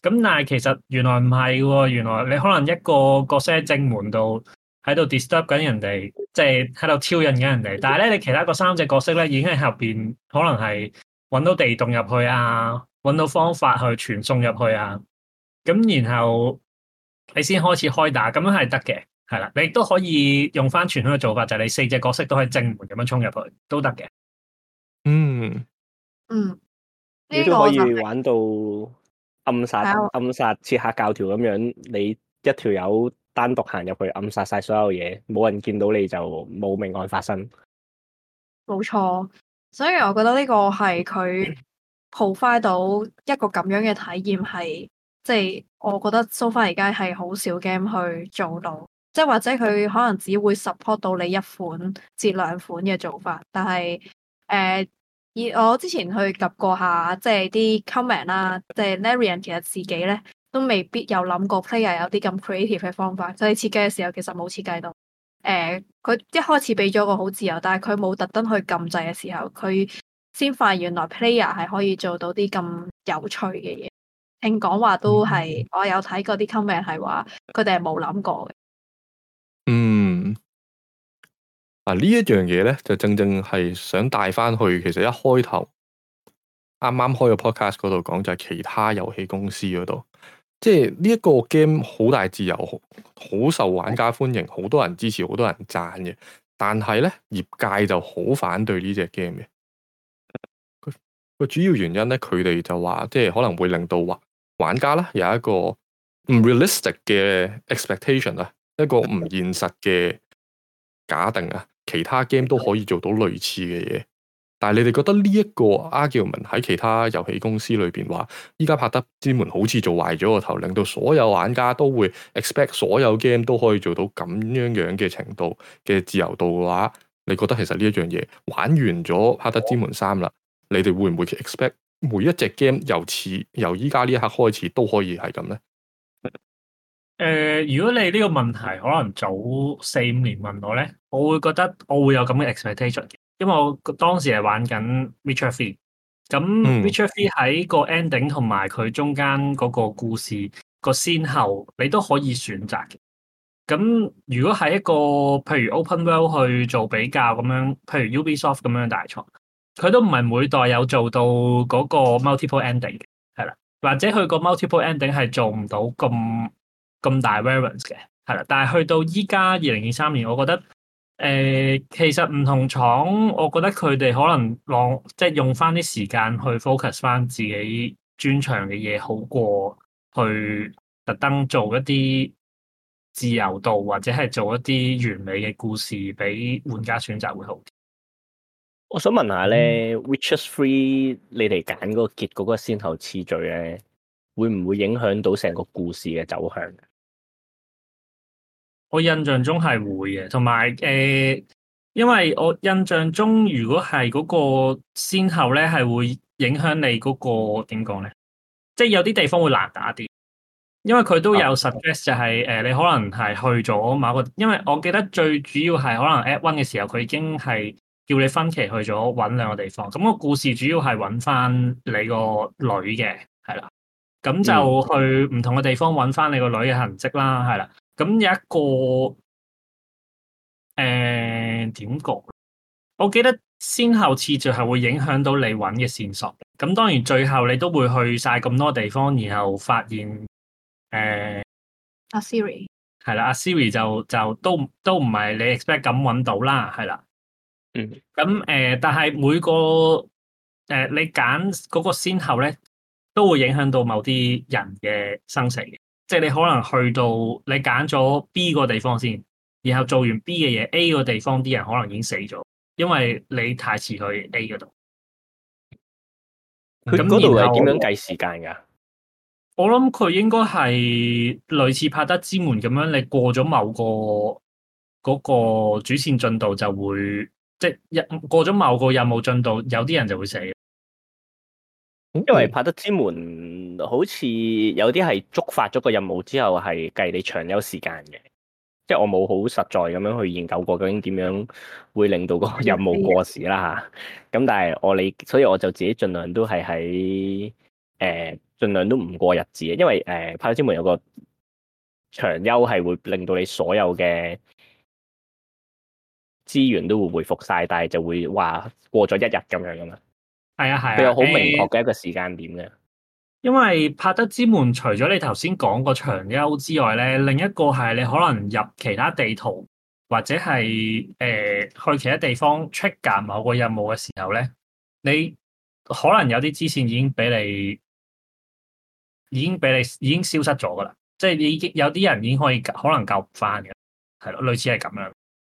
咁但係其實原來唔係喎，原來你可能一個角色喺正門度喺度 disturb 緊人哋，即係喺度挑釁緊人哋。但係咧，你其他嗰三隻角色咧已經喺後邊，可能係揾到地洞入去啊，揾到方法去傳送入去啊。咁然後你先開始開打，咁樣係得嘅，係啦。你亦都可以用翻傳統嘅做法，就係你四隻角色都喺正門咁樣衝入去，都得嘅。 嗯嗯， 你都可以玩到暗殺、 係啊暗殺刺客教條咁樣，你一條友單獨行入去暗殺晒所有嘢，冇人見到你就冇命案發生。 冇錯，所以我覺得呢個係佢 provide 到一個咁樣嘅體驗，係即係我覺得 so far 而家係好少 game 去做到，即係或者佢可能只會 support 到你一款至兩款嘅做法，但係誒，以、呃、我之前去及過下，即係啲 comment 啦，即係 Larian 其實自己咧都未必有諗過 player 有啲咁 creative 嘅方法，就係設計嘅時候其實冇設計到。誒，佢、呃、一開始俾咗個好自由，但係佢冇特登去撳掣嘅時候，佢先發現原來 player 係可以做到啲咁有趣嘅嘢。聽講話都係，我有睇過啲 comment 係話，佢哋係冇諗過嘅。 嗯，啊呢一樣嘢咧，就正正係想帶翻去，其實一開頭啱啱開個 podcast 嗰度講就係其他遊戲公司嗰度。即係呢一個 game 好大自由，好受玩家歡迎，好多人支持，好多人讚嘅。但係咧，業界就好反對呢隻 game 嘅。個主要原因咧，佢哋就話，即係可能會令到玩玩家啦有一個唔 realistic 嘅 expectation 啊，一個唔現實嘅假定啊，其他 game 都可以做到類似嘅嘢。但係你哋覺得呢一個 argument 喺其他遊戲公司裏邊話，依家拍得之門好似做壞咗個頭，令到所有玩家都會 expect 所有 game 都可以做到咁樣樣嘅程度嘅自由度嘅話，你覺得其實呢一樣嘢玩完咗拍得之門三啦，你哋會唔會 expect 每一隻 game 由此由依家呢一刻開始都可以係咁呢？ 誒、呃，如果你呢個問題可能早四五年問我咧，我會覺得我會有咁嘅 expectation 嘅。因為我當時係玩緊 Witcher three，咁 Witcher three 喺個 ending 同埋佢中間嗰個故事個先後，你都可以選擇嘅。咁如果係一個譬如 Open World 去做比較咁樣，譬如 Ubisoft 咁樣嘅大廠，佢都唔係每代有做到嗰個 multiple ending 嘅，係啦，或者佢個 multiple ending 係做唔到咁咁大 variance 嘅，係啦。但係去到依家二零二三年，我覺得。誒、呃，其實唔同廠，我覺得佢哋可能浪即係用翻啲時間去 focus 翻自己專長嘅嘢，好過去特登做一啲自由度或者係做一啲完美嘅故事俾玩家選擇會好啲。 我想問下咧、嗯、Witcher three 你哋揀嗰個結局嗰個先後次序咧，會唔會影響到成個故事嘅走向？ 我印象中係會嘅，同埋誒，因為我印象中如果係嗰個先後咧，係會影響你嗰、嗰個點講咧，即係有啲地方會難打啲，因為佢都有 suggest 就係、是、誒、呃，你可能係去咗某個，因為我記得最主要係可能 at one 嘅時候，佢已經係叫你分期去咗揾兩個地方，咁、嗰個故事主要係揾翻你個女嘅，係啦，咁就去唔同嘅地方揾翻你個女嘅痕跡啦，係啦。咁有一個誒點講？我記得先後次序係會影響到你揾嘅線索。咁當然最後你都會去晒咁多地方，然後發現誒阿、呃、 Siri 係啦，阿 Siri 就就都都唔係你 expect 咁揾到啦，係啦。 嗯。 咁誒、呃，但係每個誒、呃、你揀嗰個先後咧，都會影響到某啲人嘅生死嘅。即係你可能去到你揀咗 B 個地方先，然後做完 B 嘅嘢 A 個地方啲人可能已經死咗，因為你太遲去 A 嗰度。 佢嗰度係點樣計時間㗎？ 我諗佢應該係類似拍得之門咁樣，你過咗某個嗰個主線進度就會，即係一過咗某個任務進度，有啲人就會死。 因為拍得之門好似有啲係觸發咗個任務之後係計你長有時間嘅，即係我冇好實在咁樣去研究過究竟點樣會令到個任務過時啦吓。咁但係我理，所以我就自己盡量都係喺誒盡量都唔過日子，因為誒《帕特之門》有個長休係會令到你所有嘅資源都會回復晒，但係就會話過咗一日咁樣噶嘛。 係啊係啊， 佢有好明確嘅一個時間點嘅。 因為帕德之門除咗你頭先講個長休之外咧，另一個係你可能入其他地圖或者係誒、呃、去其他地方 trigger 某個任務嘅時候咧，你可能有啲支線已經俾你已經俾你已經消失咗噶啦，即係已經有啲人已經可以可能救唔翻嘅，係咯，類似係咁樣。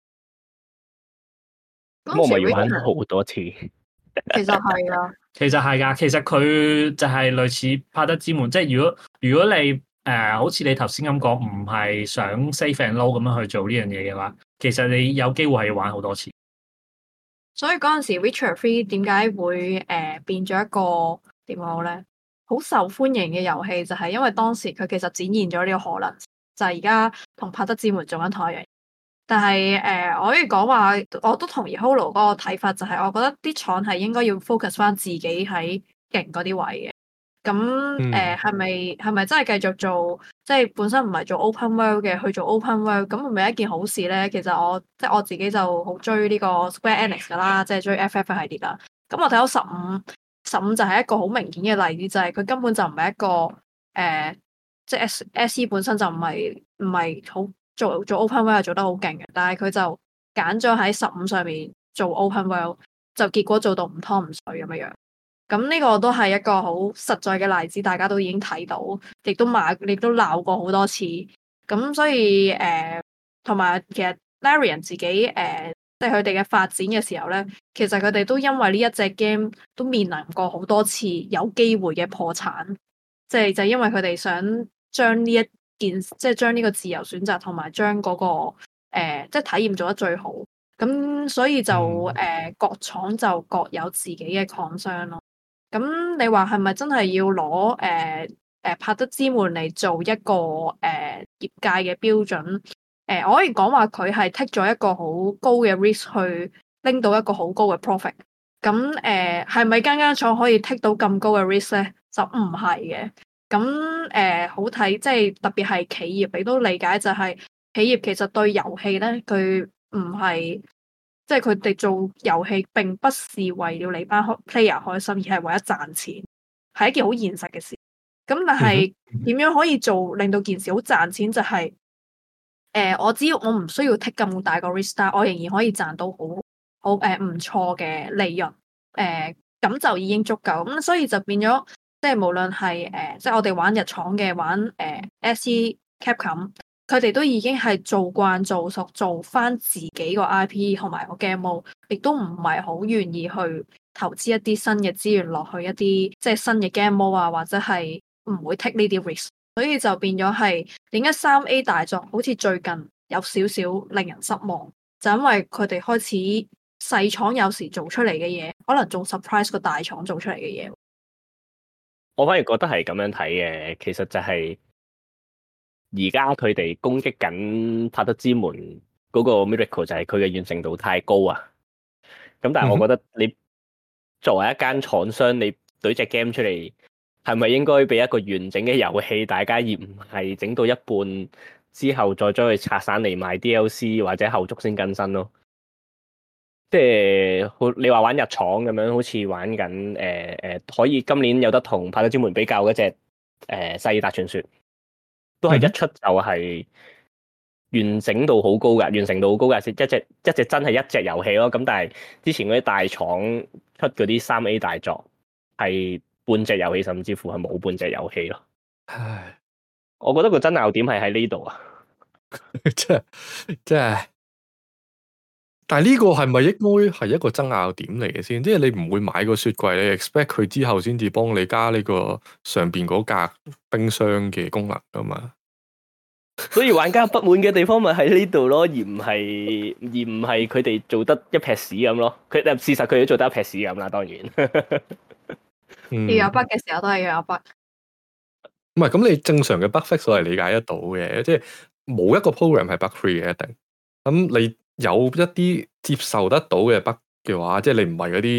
咁我咪要玩好多次。 其實係啊， 其實係噶，其實佢就係類似帕德之門，即係如果如果你誒、呃、好似你頭先咁講，唔係想 save and load 咁樣去做呢樣嘢嘅話，其實你有機會係要玩好多次。 所以嗰陣時 Witcher three 點解會誒、呃、變咗一個點講好咧？好受歡迎嘅遊戲就係因為當時佢其實展現咗呢個可能，就係而家同帕德之門做緊同一樣。但係誒、呃，我可以講話，我都同意 Holo 嗰個睇法，就係我覺得啲廠係應該要 focus 翻自己喺勁嗰啲位嘅。咁誒係咪係咪真係繼續做？即係本身唔係做 open world 嘅，去做 open world，咁係咪一件好事咧？其實我即係我自己就好追呢個 Square Enix 噶啦，即係追 F F 系列啦。咁我睇到十五十五就係一個好明顯嘅例子，就係、是、佢根本就唔係一個誒、呃，即係 S S E 本身就唔係唔係好。做做 open world 做得好勁嘅，但係佢就揀咗喺十五上面做 open world，就結果做到唔湯唔水咁樣樣。咁呢個都係一個好實在嘅例子，大家都已經睇到，亦都罵，亦都鬧過好多次。咁所以誒，同、呃、埋其實 Larian 自己誒，即係佢哋嘅發展嘅時候咧，其實佢哋都因為呢一隻 game 都面臨過好多次有機會嘅破產，即係就係、因為佢哋想將呢一件即係將呢個自由選擇同埋將嗰個誒、呃、即係體驗做得最好，咁所以就誒、呃、各廠就各有自己嘅 concern 咯。咁你話係咪真係要攞誒誒帕德之門嚟做一個誒、呃、業界嘅標準？誒、呃、我可以講話佢係 take 咗一個好高嘅 risk 去拎到一個好高嘅 profit。咁誒係咪間間廠可以 take 到咁高嘅 risk 咧？就唔係嘅。咁誒、呃、好睇，即係特別係企業，你都理解就係企業其實對遊戲咧，佢唔係即係佢哋做遊戲並不是為了你班 player 開心，而係為咗賺錢，係一件好現實嘅事。咁但係點樣可以做令到件事好賺錢？就係、是、誒、呃，我只要我唔需要 take 咁大個 risk，但我仍然可以賺到好好誒唔錯嘅利潤，誒、呃、咁就已經足夠。咁所以就變咗。即係無論係誒，即係我哋玩日廠嘅，玩誒、呃、S E Capcom，佢哋都已經係做慣做熟，做翻自己個 I P 同埋個 game mode，亦都唔係好願意去投資一啲新嘅資源落去一啲即係新嘅 game mode 啊，或者係唔會 take 呢啲 risk，所以就變咗係點解三 A 大作好似最近有少少令人失望，就因為佢哋開始細廠有時做出嚟嘅嘢，可能仲 surprise 個大廠做出嚟嘅嘢。 我反而覺得係咁樣睇嘅，其實就係而家佢哋攻擊緊帕德之門嗰個 Miracle 就係佢嘅完成度太高啊！咁但係我覺得你作為一間廠商，你懟隻 game 出嚟，係咪應該俾一個完整嘅遊戲大家，而唔係整到一半之後再將佢拆散嚟賣 D L C 或者後續先更新咯？即係你話玩日廠咁樣，好似玩緊誒誒，可以今年有得同帕德之門比較嗰隻誒《薩爾達傳說》，都係一出就係完整度好高噶，完成度好高噶，一隻一隻真係一隻遊戲咯。咁但係之前嗰啲大廠出嗰啲三 A 大作，係半隻遊戲，甚至乎係冇半隻遊戲咯。唉，我覺得個爭拗點係喺呢度啊， 即係即係。但係呢個係咪應該係一個爭拗點嚟嘅先？即係你唔會買個雪櫃，你 expect 佢之後先至幫你加呢個上邊嗰格冰箱嘅功能噶嘛？ 所以玩家不滿嘅地方咪喺呢度咯，而唔係而唔係佢哋做得一撇屎咁咯。佢事實佢都做得一撇屎咁啦，當然。 嗯、 要有 bug 嘅時候都係要有 bug。 唔係咁，你正常嘅 bug fix 我係理解得到嘅，即係冇一個 program 係 bug free 嘅一定。咁你有一啲接受得到嘅 bug 嘅話，即係你唔係嗰啲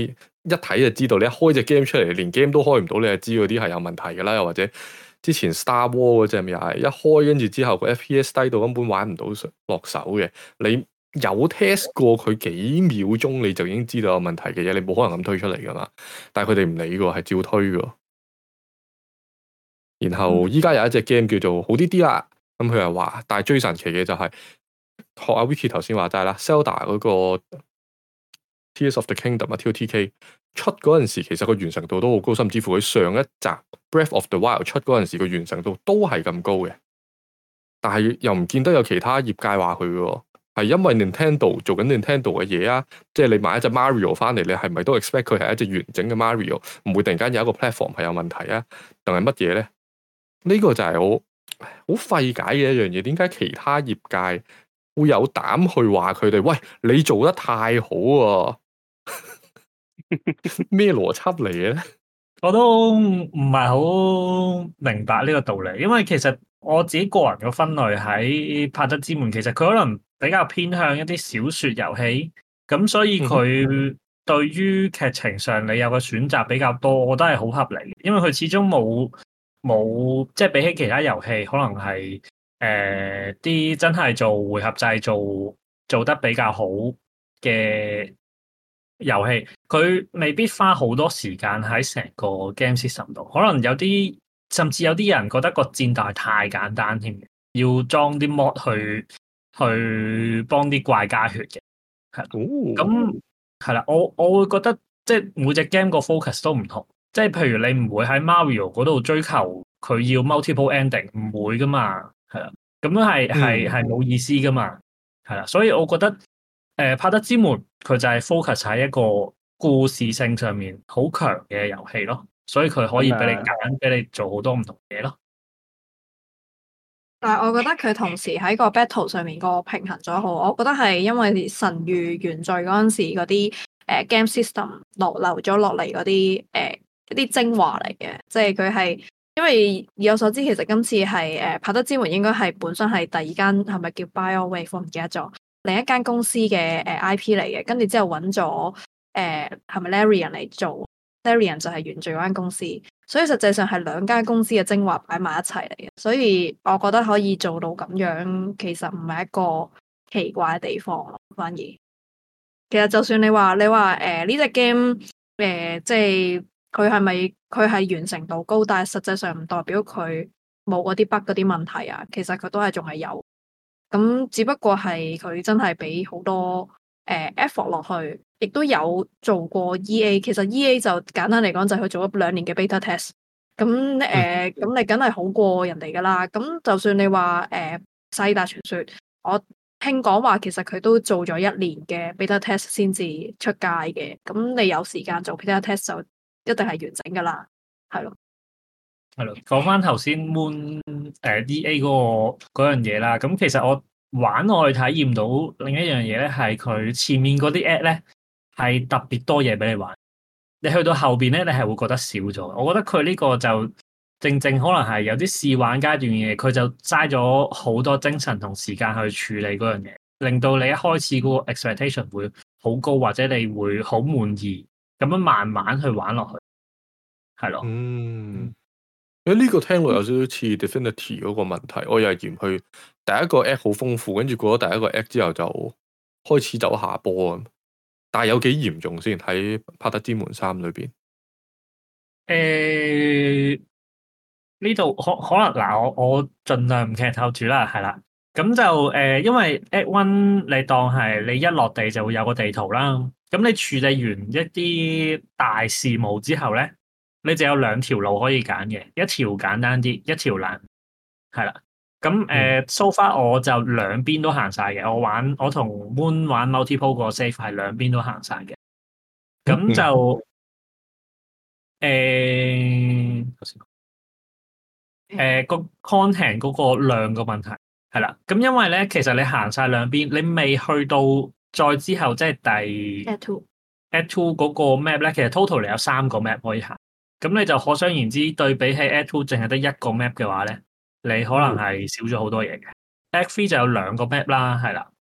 一睇就知道，你一開隻 game 出嚟，連 game 都開唔到，你就知嗰啲係有問題㗎啦。又或者之前 Star Wars 嗰隻又係一開跟住之後個 F P S 低到根本玩唔到落手嘅。你有 test 過佢幾秒鐘，你就已經知道有問題嘅嘢，你冇可能咁推出嚟㗎嘛。但係佢哋唔理㗎，係照推㗎。然後依家有一隻 game 叫做好啲啲啦，咁佢又話，但係最神奇嘅就係、是、學阿 Vicky 頭先話齋啦 ，Zelda 嗰個 Tears of the Kingdom 啊 T O T K 出嗰陣時，其實個完成度都好高，甚至乎佢上一集 Breath of the Wild 出嗰陣時個完成度都係咁高嘅。但係又唔見得有其他業界話佢嘅，係因為 Nintendo 做緊 Nintendo 嘅嘢啊，即係你買一隻 Mario 翻嚟，你係咪都 expect 佢係一隻完整嘅 Mario， 唔會突然間有一個 platform 係有問題啊？定係乜嘢咧？呢個就係好好費解嘅一樣嘢，點解其他業界會有膽去話佢哋？喂，你做得太好啊！咩邏輯嚟嘅咧？ 我都唔係好明白呢個道理，因為其實我自己個人嘅分類喺《柏德之門》，其實佢可能比較偏向一啲小說遊戲，咁所以佢對於劇情上你有個選擇比較多，我覺得係好合理嘅，因為佢始終冇。冇，即係比起其他遊戲，可能係誒啲真係做回合制做做得比較好嘅遊戲，佢未必花好多時間喺成個 game system 度。可能有啲甚至有啲人覺得個戰鬥係太簡單添，要裝啲 mod 去去幫啲怪加血嘅，係咁係啦。我我會覺得即係每隻 game 個 focus 都唔同。即係譬如你唔會喺 Mario 嗰度追求佢要 multiple ending， 唔會噶嘛，係啦，咁樣係係係冇意思噶嘛，係啦，所以我覺得誒《柏德之門》佢就係 focus 喺一個故事性上面好強嘅遊戲咯，所以佢可以俾你揀，俾、嗯、你做好多唔同嘢咯。 但係我覺得佢同時喺個 battle 上面個平衡咗好，我覺得係因為神諭原罪嗰陣時嗰啲誒 game system 落留咗落嚟嗰啲誒。呃一啲精華嚟嘅，即係佢係，因為以我所知，其實今次係誒柏德之門應該係本身係第二間係咪叫 BioWave 我唔記得咗，另一間公司嘅誒 I P 嚟嘅，跟住之後揾咗誒係咪 Larian 嚟做 Larian 就係原罪嗰間公司，所以實際上係兩間公司嘅精華擺埋一齊嚟嘅，所以我覺得可以做到咁樣，其實唔係一個奇怪嘅地方咯，反而其實就算你話你話誒呢隻 game 誒即係。佢係咪佢係完成度高，但係實際上唔代表佢冇嗰啲 bug 嗰啲問題啊。其實佢都係仲係有，咁只不過係佢真係俾好多誒、呃、effort 落去，亦都有做過 E A。其實 E A 就簡單嚟講就係佢做咗兩年嘅 beta test。咁誒，咁、呃、你梗係好過人哋噶啦。咁就算你話誒《薩爾達傳說》，我聽講話其實佢都做咗一年嘅 beta test 先至出街嘅。咁你有時間做 beta test 就一定係完整噶啦，係咯， 係咯。講翻頭先 Moon 誒 E A 嗰個嗰樣嘢啦，咁其實我玩我去體驗到另一樣嘢咧，係佢前面嗰啲 app 咧係特別多嘢俾你玩，你去到後邊咧，你係會覺得少咗。我覺得佢呢個就正正可能係有啲試玩階段嘅嘢，佢就嘥咗好多精神同時間去處理嗰樣嘢，令到你一開始嗰個 expectation 會好高，或者你會好滿意。咁樣慢慢去玩落去，係咯。 嗯，誒呢個聽落有少少似 Divinity 嗰個問題，我又係嫌佢第一個 act 好豐富，跟住過咗第一個 act 之後就開始走下坡咁。但係有幾嚴重先喺《柏德之門三》裏邊？ 誒呢度可可能嗱，我我盡量唔劇透住啦，係啦。咁就誒、呃，因為 Act One 你當係你一落地就會有個地圖啦。咁你處理完一啲大事務之後咧，你就有兩條路可以揀嘅，一條簡單啲，一條難，係啦。咁誒，so far 我就兩邊都行晒嘅。我玩我同 Moon 玩 multiple 個 save 係兩邊都行晒嘅。咁就誒，誒個 content 嗰個量個問題係啦。咁因為咧，其實你行晒兩邊，你未去到。再之後即係第 Act Two，Act Two 嗰個 map 咧，其實 total 你有三個 map 可以行，咁你就可想而知，對比起 Act Two 淨係得一個 map 嘅話咧，你可能係少咗好多嘢嘅。嗯、Act Three 就有兩個 map 啦，係啦，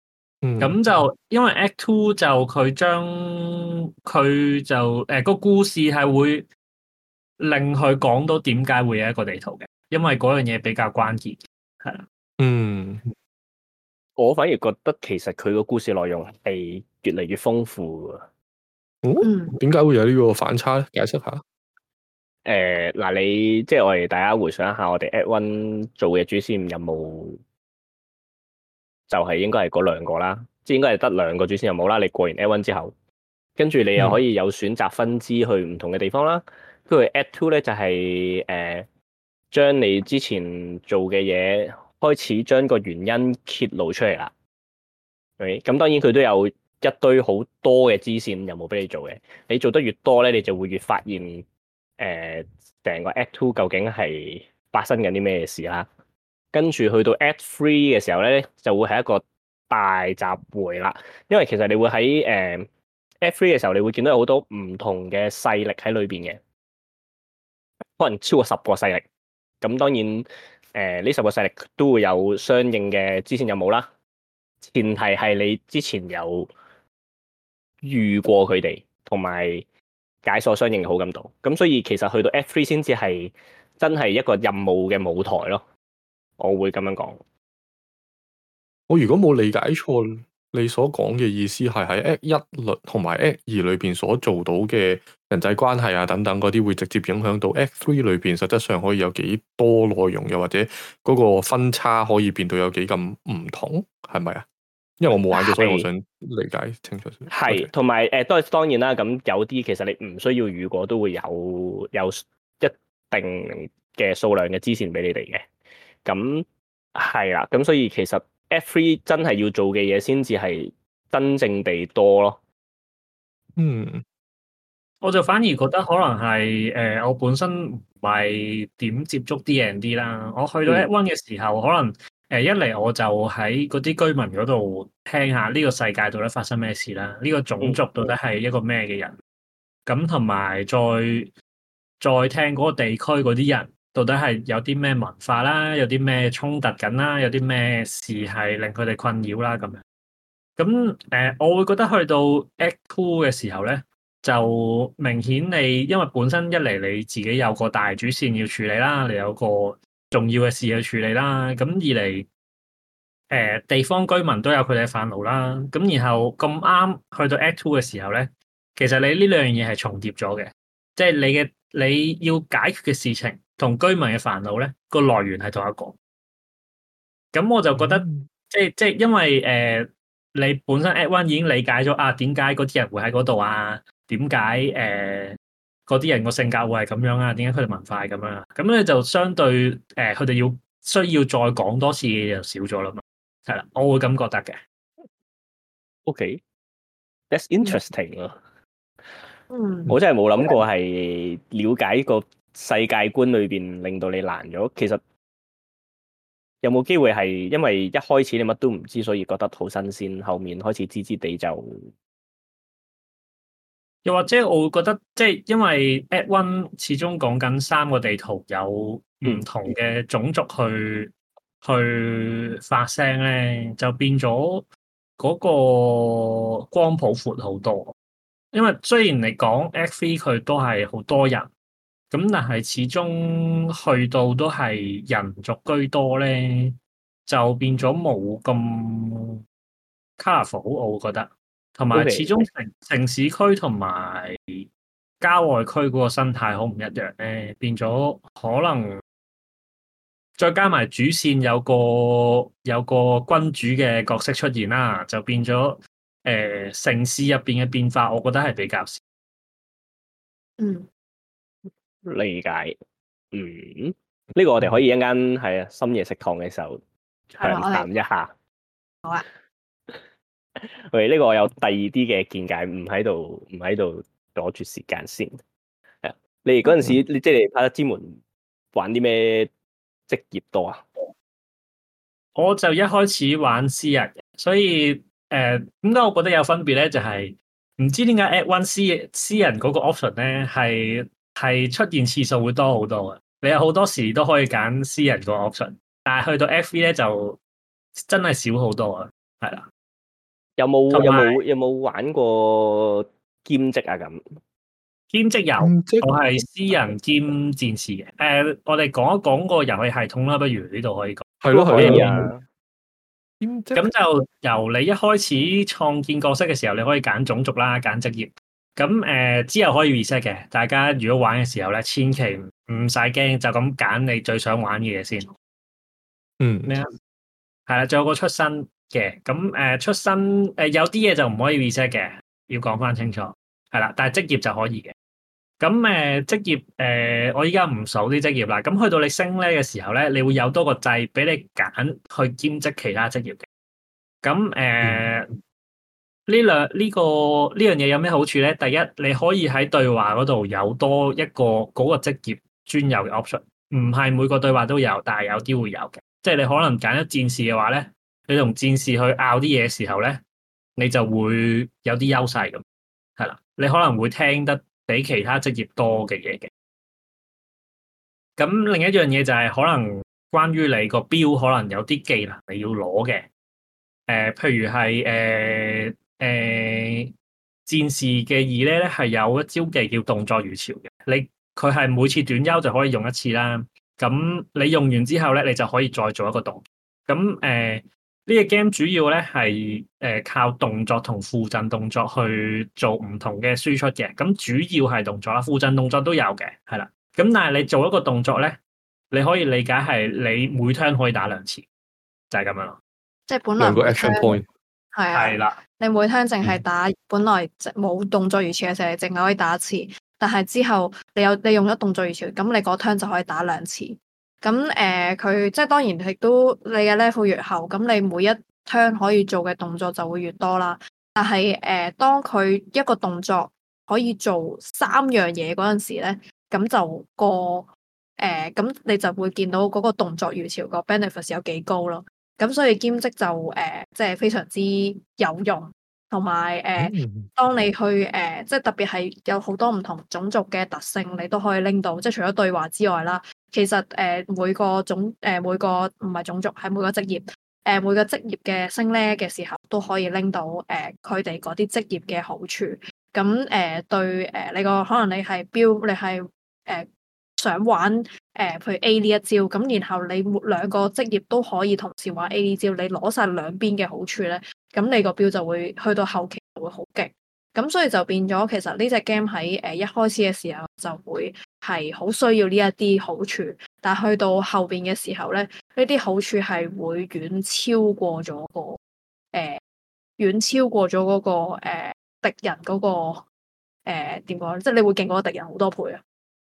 咁、嗯、就因為 Act Two 就佢將佢就誒、呃個故事係會令佢講到點解會有一個地圖嘅，因為嗰樣嘢比較關鍵，係啦。 嗯， 我反而覺得其實佢個故事內容係越嚟越豐富㗎。 嗯，點解會有呢個反差咧？解釋下。 誒嗱、呃，你即係我哋大家回想一下，我哋 Act One 做嘅主線任務就係應該係嗰兩個啦，即係應該係得兩個主線任務啦。你過完 Act One 之後，跟住你又可以有選擇分支去唔同嘅地方啦。跟住、嗯、Act Two 咧就係誒將你之前做嘅嘢開始將個原因揭露出嚟啦。咁、okay? 當然佢都有一堆好多嘅支線任務俾你做嘅。你做得越多咧，你就會越發現誒成、呃、個 Act Two 究竟係發生緊啲咩事啦。跟住去到 Act Three 嘅時候咧，就會係一個大集會啦。因為其實你會喺誒、呃、Act Three 嘅時候，你會見到有好多唔同嘅勢力喺裏邊嘅，可能超過十個勢力。咁當然誒呢、呃、十個勢力都會有相應嘅支線任務啦。前提係你之前有遇過佢哋，同埋解鎖相應嘅好感度。咁所以其實去到 Act Three 先至係真係一個任務嘅舞台咯。我會咁樣講。 我如果冇理解錯，你所講嘅意思係喺 Act 一律同埋 Act 二裏邊所做到嘅人際關係啊等等嗰啲，會直接影響到 Act Three 裏邊實質上可以有幾多內容，又或者嗰個分差可以變到有幾咁唔同，係咪啊？因為我冇玩過，是所以我想理解清楚啲。 係，同埋誒，都係當然啦。咁有啲其實你唔需要遇過，都會有有一定嘅數量嘅支線俾你哋嘅。咁係啦，咁所以其實 Act Three 真係要做嘅嘢，先至係真正地多咯。 嗯， 我就反而覺得可能係誒、呃，我本身唔係點接觸 D and D 啦。我去到 Act One 嘅時候，嗯、可能誒、呃、一嚟我就喺嗰啲居民嗰度聽下呢個世界到底發生咩事啦，呢、呢個種族到底係一個咩嘅人，咁同埋再再聽嗰個地區嗰啲人。到底係有啲咩文化啦，有啲咩衝突緊啦，有啲咩事係令佢哋困擾啦咁樣。咁誒、呃，我會覺得去到 Act Two 嘅時候咧，就明顯你因為本身一嚟你自己有個大主線要處理啦，你有個重要嘅事要處理啦。咁二嚟誒、呃、地方居民都有佢哋嘅煩惱啦。咁然後咁啱去到 Act Two 嘅時候咧，其實你呢兩樣嘢係重疊咗嘅，即係你嘅你要解決嘅事情。同居民嘅煩惱咧，個來源係同一個，咁我就覺得，嗯、即係即係因為誒、呃，你本身 Act One 已經理解咗啊，點解嗰啲人會喺嗰度啊？點解誒嗰啲人個性格會係咁樣啊？點解佢哋文化係咁樣啊？咁咧就相對誒，佢、呃、哋要需要再講多次嘅嘢就少咗啦嘛，係啦，我會咁覺得嘅。 OK，that's interesting 啊。 嗯， 我真係冇諗過係了解個世界觀裏邊令到你難咗。其實有冇機會係因為一開始你乜都唔知，所以覺得好新鮮，後面開始知知地就， 又或者我會覺得即係因為 Act One 始終講緊三個地圖有唔同嘅種族去、嗯、去發聲咧，就變咗嗰個光譜闊好多。因為雖然你講 Act Three 佢都係好多人，咁但係始終去到都係人族居多咧，就變咗冇咁 colourful，我覺得。同埋始終城城市區同埋郊外區嗰個生態好唔一樣咧，變咗可能再加埋主線有個有個君主嘅角色出現啦，就變咗。誒、呃，城市入邊嘅變化，我覺得係比較少。 嗯， 理解。嗯，呢、這個我哋可以一陣間係啊深夜食堂嘅時候詳談一下。 好啊。 喂，呢個我有第二啲嘅見解，唔喺度，唔喺度阻住時間先。係啊，你哋嗰陣時，你即係拍得之門玩啲咩職業多啊？ 我就一開始玩私人，所以。誒，點解我覺得有分別咧？就係、是、唔知點解 Act One 私私人嗰個 option 咧，係係出現次數會多好多啊！你有好多時都可以揀私人個 option，但係去到 Act Three 咧就真係少好多啊，係啦。 有冇同埋有冇有冇玩過兼職啊？咁兼職有， 兼職我係私人兼戰士嘅。誒、我哋講一講個遊戲系統啦，不如呢度可以講。 係咯係可以咯， 啊。 兼職咁就由你一開始創建角色嘅時候，你可以揀種族啦，揀職業。咁誒、呃、之後可以 reset 嘅。大家如果玩嘅時候咧，千祈唔使驚，就咁揀你最想玩嘅嘢先。 嗯咩啊？係啦，仲有個出身嘅。咁誒、呃、出身誒、呃、有啲嘢就唔可以 reset 嘅，要講翻清楚。係啦，但係職業就可以嘅。咁誒、呃、職業誒、呃，我依家唔數啲職業啦。咁去到你升咧嘅時候咧，你會有多個掣俾你揀去兼職其他職業嘅。咁誒。呃嗯呢兩呢個呢樣嘢有咩好處咧？第一，你可以喺對話嗰度有多一個嗰個職業專有嘅 option，唔係每個對話都有，但係有啲會有嘅。即係你可能揀咗戰士嘅話咧，你同戰士去拗啲嘢嘅時候咧，你就會有啲優勢咁，係啦。你可能會聽得比其他職業多嘅嘢嘅。咁另一樣嘢就係可能關於你個標，可能有啲技能你要攞嘅。誒、呃，譬如係誒。呃誒、呃，戰士嘅二咧咧係有一招技叫動作如潮嘅，你佢係每次短休就可以用一次啦。咁你用完之後咧，你就可以再做一個動作。咁誒，呢、呃這個 game 主要咧係誒靠動作同附贈動作去做唔同嘅輸出嘅。咁主要係動作啦，附贈動作都有嘅，係啦。咁但係你做一個動作咧，你可以理解係你每 turn 可以打兩次，就係、是、咁樣咯。 即係本來兩個 action point 係啊， 係啦。 你每 turn 淨係打，本來冇動作如潮嘅時候，你淨係可以打一次。但係之後你有你用咗動作如潮，咁你嗰 turn 就可以打兩次。咁誒，佢、呃、即係當然亦都你嘅 level 越後，咁你每一 turn 可以做嘅動作就會越多啦。但係誒、呃，當佢一個動作可以做三樣嘢嗰陣時咧，咁就個誒，咁、呃、你就會見到嗰個動作如潮個 benefits 有幾高咯。咁所以兼職就誒、呃，即係非常之有用，同埋誒，當你去誒、呃，即係特別係有好多唔同種族嘅特性，你都可以拎到。即係除咗對話之外啦，其實誒、呃、每個種誒、呃、每個唔係種族，係每個職業誒、呃、每個職業嘅升咧嘅時候，都可以拎到誒佢哋嗰啲職業嘅好處。咁誒、呃、對誒、呃、你個可能你係標，你係誒。呃想玩誒、呃，譬如 A 呢一招，咁然後你兩個職業都可以同時玩 A 呢招，你攞晒兩邊嘅好處咧，咁你個標就會去到後期就會好勁，咁所以就變咗其實呢隻 game 喺誒一開始嘅時候就會係好需要呢一啲好處，但係去到後邊嘅時候咧，呢啲好處係會遠超過咗個誒，遠、呃、超過咗嗰、那個誒、呃、敵人嗰、那個誒點講咧，即係你會勁過敵人好多倍啊！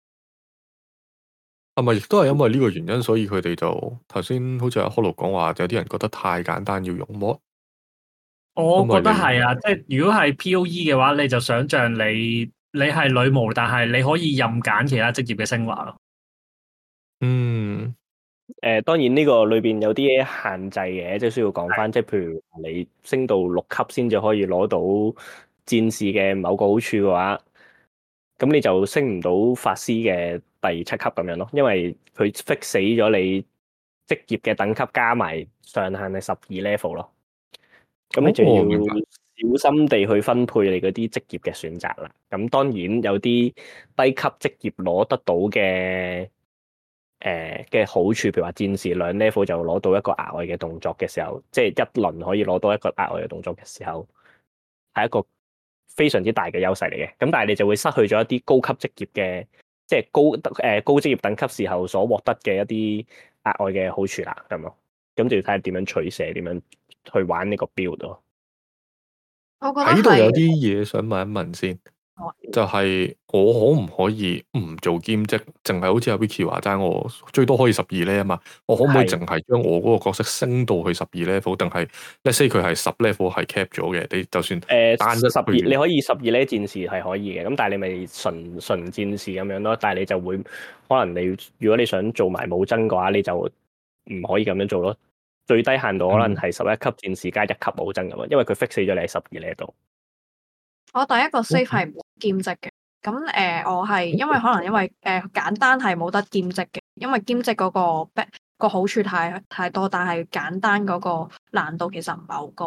係咪亦都係因為呢個原因，所以佢哋就頭先好似阿 Hollow 講話，有啲人覺得太簡單要用 mod。 我覺得係啊，即係如果係 P O E 嘅話，你就想象你你係女巫，但係你可以任揀其他職業嘅升華咯。 嗯， 誒、呃，當然呢個裏邊有啲限制嘅，即係需要講翻，即係譬如你升到六級先至可以攞到戰士嘅某個好處嘅話，咁你就升唔到法師嘅第七級咁樣咯，因為佢 fix 死咗你職業嘅等級加埋上限係十二 level 咯。咁你就要小心地去分配你嗰啲職業嘅選擇啦。咁當然有啲低級職業攞得到嘅誒嘅好處，譬如話戰士兩 level 就攞到一個額外嘅動作嘅時候，即係一輪可以攞到一個額外嘅動作嘅時候，係一個非常之大嘅優勢嚟嘅。咁但係你就會失去咗一啲高級職業嘅，即係高誒高職業等級時候所獲得嘅一啲額外嘅好處啦。咁咯，咁就要睇下點樣取捨，點樣去玩呢個 build 咯。 我覺得喺度有啲嘢想問一問先， 哦、 就係我可唔可以唔做兼職，淨係好似阿 Vicky 話齋，我最多可以十二 level 啊嘛？我可唔可以淨係將我嗰個角色升到去十二 level？定係 let's say 佢係十 level 係 cap 咗嘅？你就算誒單一十二，你可以十二 level 戰士係可以嘅，咁但係你咪純純戰士咁樣咯。但係你就會可能你如果你想做埋武僧嘅話，你就唔可以咁樣做咯。最低限度可能係十一級戰士加一級武僧咁啊，因為佢 fix 死咗你喺十二 level。 我第一個 save 係冇兼職嘅，咁誒、呃、我係因為可能因為誒、呃、簡單係冇得兼職嘅，因為兼職嗰個個好處太太多，但係簡單嗰個難度其實唔係好高。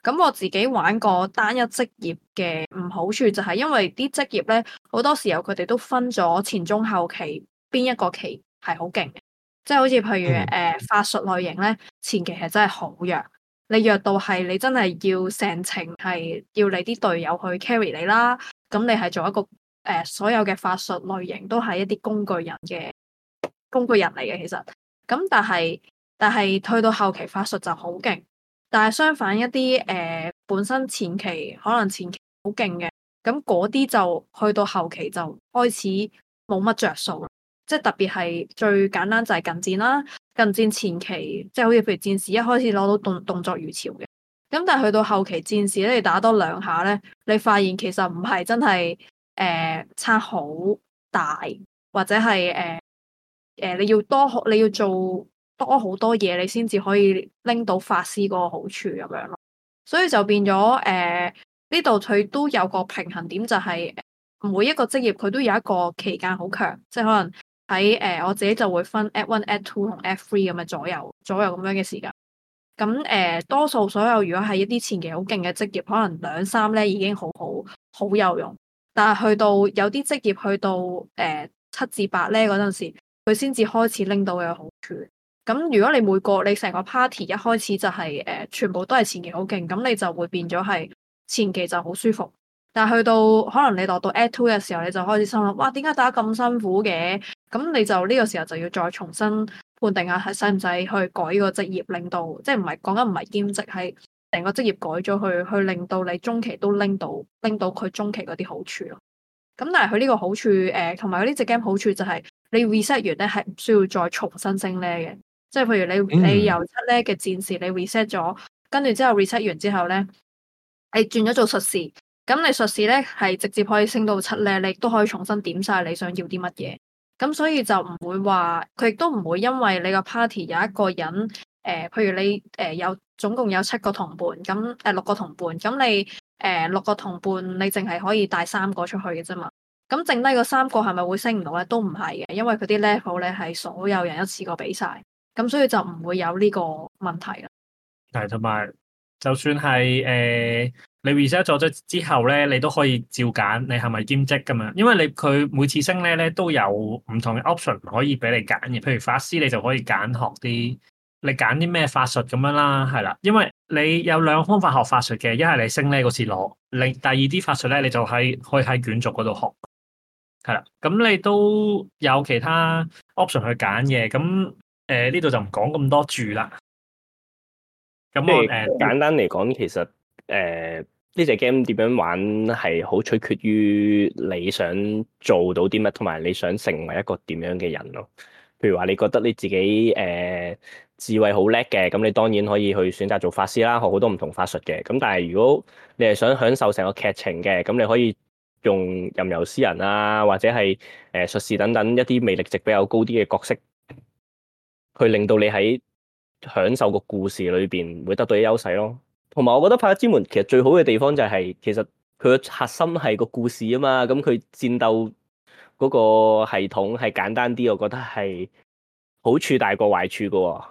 咁我自己玩過單一職業嘅唔好處就係因為啲職業咧好多時候佢哋都分咗前中後期邊一個期係好勁嘅，即係好似譬如誒、 嗯呃、法術類型咧前期係真係好弱，你弱到係你真係要成程係要你啲隊友去 carry 你啦，咁你係做一個誒、呃、所有嘅法術類型都係一啲工具人嘅工具人嚟嘅其實，咁但係但係退到後期法術就好勁。但係相反一啲誒、呃、本身前期可能前期好勁嘅，咁嗰啲就去到後期就開始冇乜着數啦。即係特別係最簡單就係近戰啦，近戰前期即係好似譬如戰士一開始攞到動動作如潮嘅，咁但係去到後期戰士咧，你打多兩下咧，你發現其實唔係真係誒、呃、差好大，或者係誒誒你要多你要做。多好多嘢，你先至可以拎到法師嗰個好處咁樣咯，所以就變咗誒呢度佢都有個平衡點，就係每一個職業佢都有一個期間好強，即係可能喺誒、呃、我自己就會分 Act One、Act Two 同 Act Three 咁嘅左右左右咁樣嘅時間。咁誒、呃、多數所有如果係一啲前期好勁嘅職業，可能兩三咧已經好好好有用，但係去到有啲職業去到誒、呃、七至八咧嗰陣時，佢先至開始拎到嘅好處。咁如果你每個你成個 party 一開始就係、是、誒、呃、全部都係前期好勁，咁你就會變咗係前期就好舒服，但係去到可能你落到 Act Two 嘅時候，你就開始心諗，哇點解打咁辛苦嘅？咁你就呢、這個時候就要再重新判定下係使唔使去改個職業，令到即係唔係講緊唔係兼職，係成個職業改咗去，去令到你中期都拎到拎到佢中期嗰啲好處咯。咁但係佢呢個好處誒，同埋佢呢隻 game 好處就係你 reset 完咧係唔需要再重新升 level 嘅。即係譬如你你由七咧嘅戰士你 reset 咗，跟住之後 reset 完之後咧，你轉咗做術士，咁你術士咧係直接可以升到七咧，你亦都可以重新點晒你想要啲乜嘢。咁所以就唔會話佢亦都唔會因為你個 party 有一個人誒、呃，譬如你誒、呃、有總共有七個同伴，咁誒、呃、六個同伴，咁你誒、呃、六個同伴你淨係可以帶三個出去嘅啫嘛。咁剩低嗰三個係咪會升唔到咧？都唔係嘅，因為佢啲 level 咧係所有人一次過俾晒。咁所以就唔會有呢個問題啦。係， 同埋就算係誒、呃、你 reset 咗咗之後咧，你都可以照揀你係咪兼職咁樣，因為你佢每次升咧咧都有唔同嘅 option 可以俾你揀嘅。譬如法師，你就可以揀學啲你揀啲咩法術咁樣啦，係啦。因為你有兩個方法學法術嘅，一係你升咧嗰次攞，你第二啲法術咧你就喺可以喺卷軸嗰度學，係啦。咁你都有其他 option 去揀嘅，咁。誒呢度就唔講咁多住啦。咁我誒、呃、 簡單嚟講，其實誒呢隻 game 點樣玩係好取決於你想做到啲乜，同埋你想成為一個點樣嘅人咯。譬如話，你覺得你自己誒、呃、智慧好叻嘅，咁你當然可以去選擇做法師啦，學好多唔同法術嘅。咁但係如果你係想享受成個劇情嘅，咁你可以用吟遊詩人啊，或者係誒術士等等一啲魅力值比較高啲嘅角色。去令到你喺享受個故事裏邊會得到啲優勢咯，同埋我覺得《派克之門》其實最好嘅地方就係、是、其實佢嘅核心係個故事啊嘛，咁佢戰鬥嗰個系統係簡單啲，我覺得係好處大過壞處噶喎。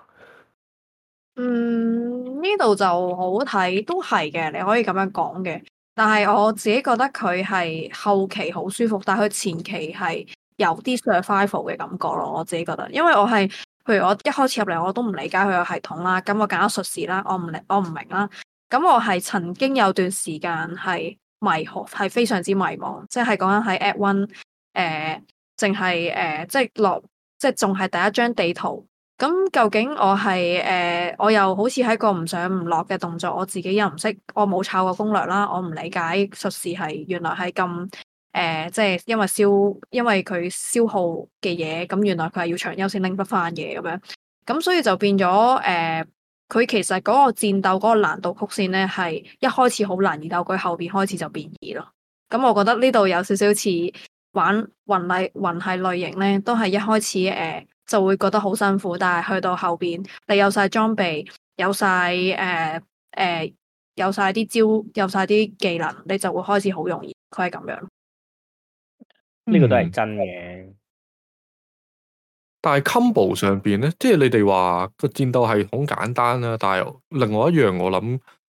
嗯，呢度就好睇，都係嘅，你可以咁樣講嘅。但係我自己覺得佢係後期好舒服，但係佢前期係有啲 survival 嘅感覺咯。我自己覺得，因為我係。譬如我一開始入嚟，我都唔理解佢個系統啦。咁我揀咗術士啦，我唔理，我唔明啦。咁我係曾經有段時間係迷惑，係非常之迷茫。即係講緊喺 Act One，誒，淨係誒，即係落，即係仲係第一張地圖。咁究竟我係誒、呃，我又好似喺個唔上唔落嘅動作，我自己又唔識，我冇抄過攻略啦，我唔理解術士係原來係咁。誒、呃，即係因為消，因為佢消耗嘅嘢，咁原來佢係要長優先拎得翻嘢咁樣，咁所以就變咗誒，佢、呃、其實嗰個戰鬥嗰個難度曲線咧，係一開始好難，然後佢後邊開始就變易咯。咁我覺得呢度有少少似玩魂類魂系類型咧，都係一開始誒、呃、就會覺得好辛苦，但係去到後邊你有晒裝備，有晒誒誒，有晒啲招，有晒啲技能，你就會開始好容易。佢係咁樣。 呢個都係真嘅、嗯， 但係 combo 上邊咧，即係你哋話個戰鬥系統簡單啦，但係另外一樣我諗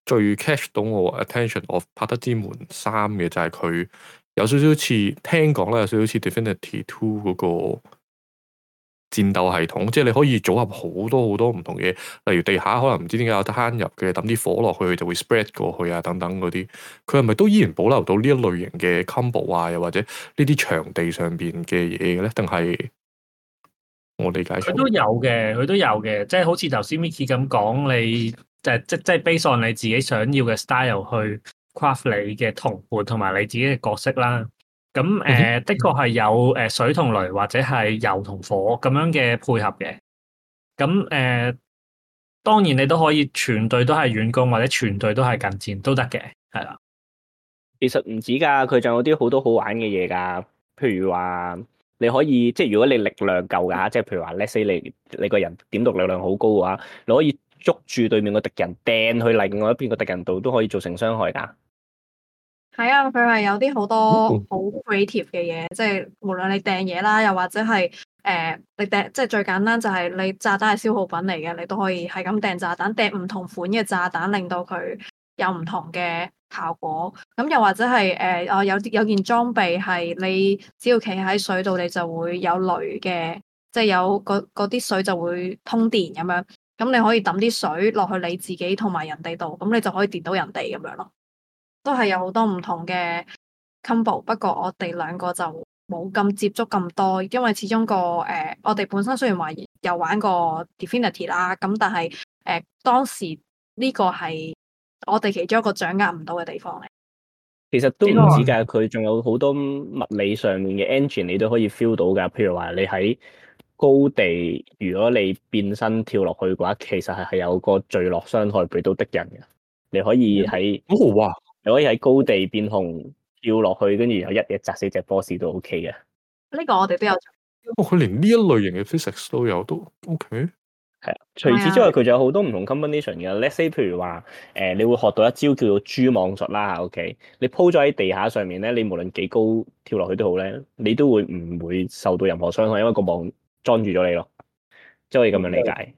最 catch 到我 attention，我拍得之門三嘅就係佢有少少似聽講啦，有少少似 Divinity Two 嗰個戰鬥系統，即係你可以組合好多好多唔同嘢，例如地下可能唔知點解有得慳入嘅，抌啲火落去就會 spread 過去啊等等嗰啲，佢係咪都依然保留到呢一類型嘅 combo 啊，又或者呢啲場地上邊嘅嘢嘅咧？定係我理解錯？ 佢都有嘅，佢都有嘅，即係好似頭先 Micky 咁講，你就即即係 base on 你自己想要嘅 style 去 craft 你嘅同伴同埋你自己嘅角色啦。咁誒、呃，的確係有誒水同雷或者係油同火咁樣嘅配合嘅。咁誒、呃，當然你都可以全隊都係遠攻或者全隊都係近戰都得嘅，係啦。 其實唔止㗎，佢仲有啲好多好玩嘅嘢㗎，譬如話。你可以即係如果你力量夠㗎，即係譬如話 let's say 你你個人點讀力量好高嘅話，你可以捉住對面個敵人掟去另外一邊個敵人度都可以造成傷害㗎。 係啊，佢係有啲好多好 creative 嘅嘢，即係無論你掟嘢啦，又或者係誒、呃、你掟，即係最簡單就係你炸彈係消耗品嚟嘅，你都可以係咁掟炸彈，掟唔同款嘅炸彈，令到佢有唔同嘅效果。咁又或者係誒哦有啲有件裝備係你只要企喺水度，你就會有雷嘅，即係有嗰啲水就會通電咁樣。咁你可以抌啲水落去你自己同埋人哋度，咁你就可以電到人哋咁樣咯。都係有好多唔同嘅 combo， 不過我哋兩個就冇咁接觸咁多，因為始終個誒、呃，我哋本身雖然話有玩過 Divinity 啦，咁但係誒、呃、當時呢個係我哋其中一個掌握唔到嘅地方嚟。 其實都唔止㗎，佢仲有好多物理上面嘅 engine，你都可以 feel 到㗎。譬如話你喺高地，如果你變身跳落去嘅話，其實係係有個墜落傷害俾到敵人嘅。你可以喺哦哇！ 你可以喺高地變紅跳落去，跟住有一嘢砸死隻 boss 都 OK 嘅。 呢個我哋都有做。 哦，佢連呢一類型嘅 physics 都有，都 OK。 係啊，除此之外，佢仲有好多唔同 combination 嘅。Let's say 譬如話，誒、呃，你會學到一招叫做蛛網術啦。OK，你鋪咗喺地下上面咧，你無論幾高跳落去都好咧，你都會唔會受到任何傷害，因為個網裝住咗你咯。即係可以咁樣理解。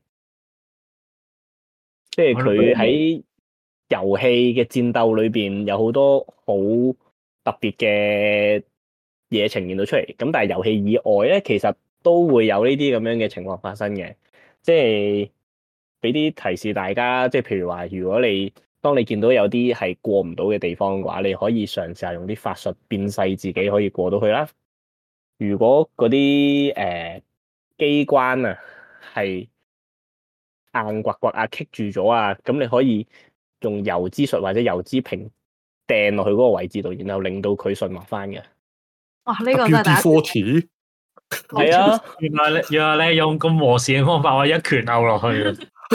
即係佢喺遊戲嘅戰鬥裏邊有好多好特別嘅嘢呈現到出嚟，咁但係遊戲以外咧，其實都會有呢啲咁樣嘅情況發生嘅，即係俾啲提示大家，即係譬如話，如果你當你見到有啲係過唔到嘅地方嘅話，你可以嘗試下用啲法術變細自己可以過到去啦。如果嗰啲誒機關啊係硬刮刮啊棘住咗啊，咁你可以用油之術或者油之瓶掟落去嗰個位置度，然後令到佢順滑翻嘅。 哇！呢、這個真係第一次。 係啊， 原來你原來你用咁和善嘅方法，我一拳毆落去。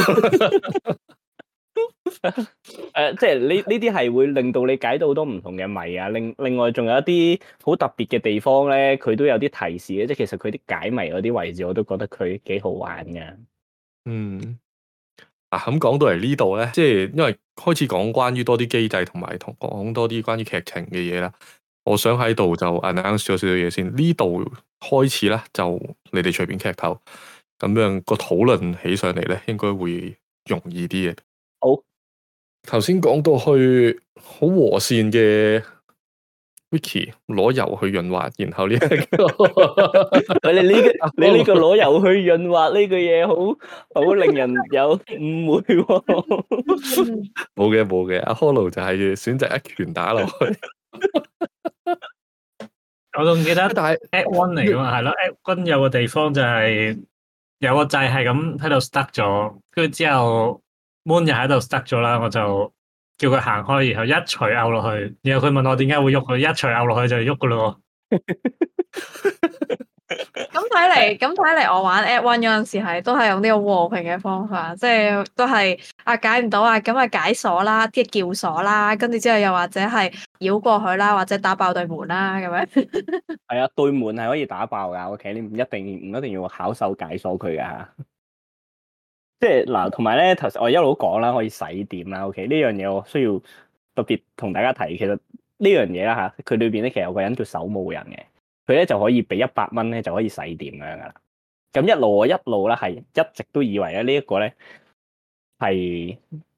誒、呃，即係呢呢啲係會令到你解到好多唔同嘅謎啊。另另外仲有一啲好特別嘅地方咧，佢都有啲提示嘅。即係其實佢啲解謎嗰啲位置，我都覺得佢幾好玩嘅。 嗯。啊，咁講到嚟呢度咧，即係因為開始講關於多啲機制同埋同講多啲關於劇情嘅嘢啦。我想喺度就 announce 咗少少嘢先。呢度開始咧，就你哋隨便劇透，咁樣個討論起上嚟咧，應該會容易啲嘅。 好，頭先講到去好和善嘅 Vicky 攞油去潤滑，然後呢、這、一個你呢個你呢個攞油去潤滑呢句嘢，好好令人有誤會喎。 冇嘅冇嘅，阿 Hollow 就係選擇一拳打落去。 我仲記得， 但係 Act One 嚟噶嘛，係咯，Act One 有個地方就係有個掣係咁喺度 stuck 咗，跟住之後 Moon 又喺度 stuck 咗啦，我就叫佢行開，然後一錘拗落去，然後佢問我點解會喐，佢一錘拗落去就喐噶咯。 咁睇嚟，咁睇嚟，我玩 Act One 嗰陣時係都係用呢個和平嘅方法，即係都係啊解唔到啊，咁啊解鎖啦，即係撬鎖啦，跟住之後又或者係繞過去啦，或者打爆對門啦，咁樣。 係啊，對門係可以打爆噶，OK，你唔一定唔一定要巧手解鎖佢噶。即係嗱，同埋咧，頭先我一路講啦，可以洗點啦，OK，呢樣嘢我需要特別同大家提，其實呢樣嘢啦吓，佢裏邊咧其實有個人叫守墓人嘅。佢咧就可以俾一百蚊咧就可以洗點咁樣噶啦。咁一路我一路咧係一直都以為咧呢一個咧係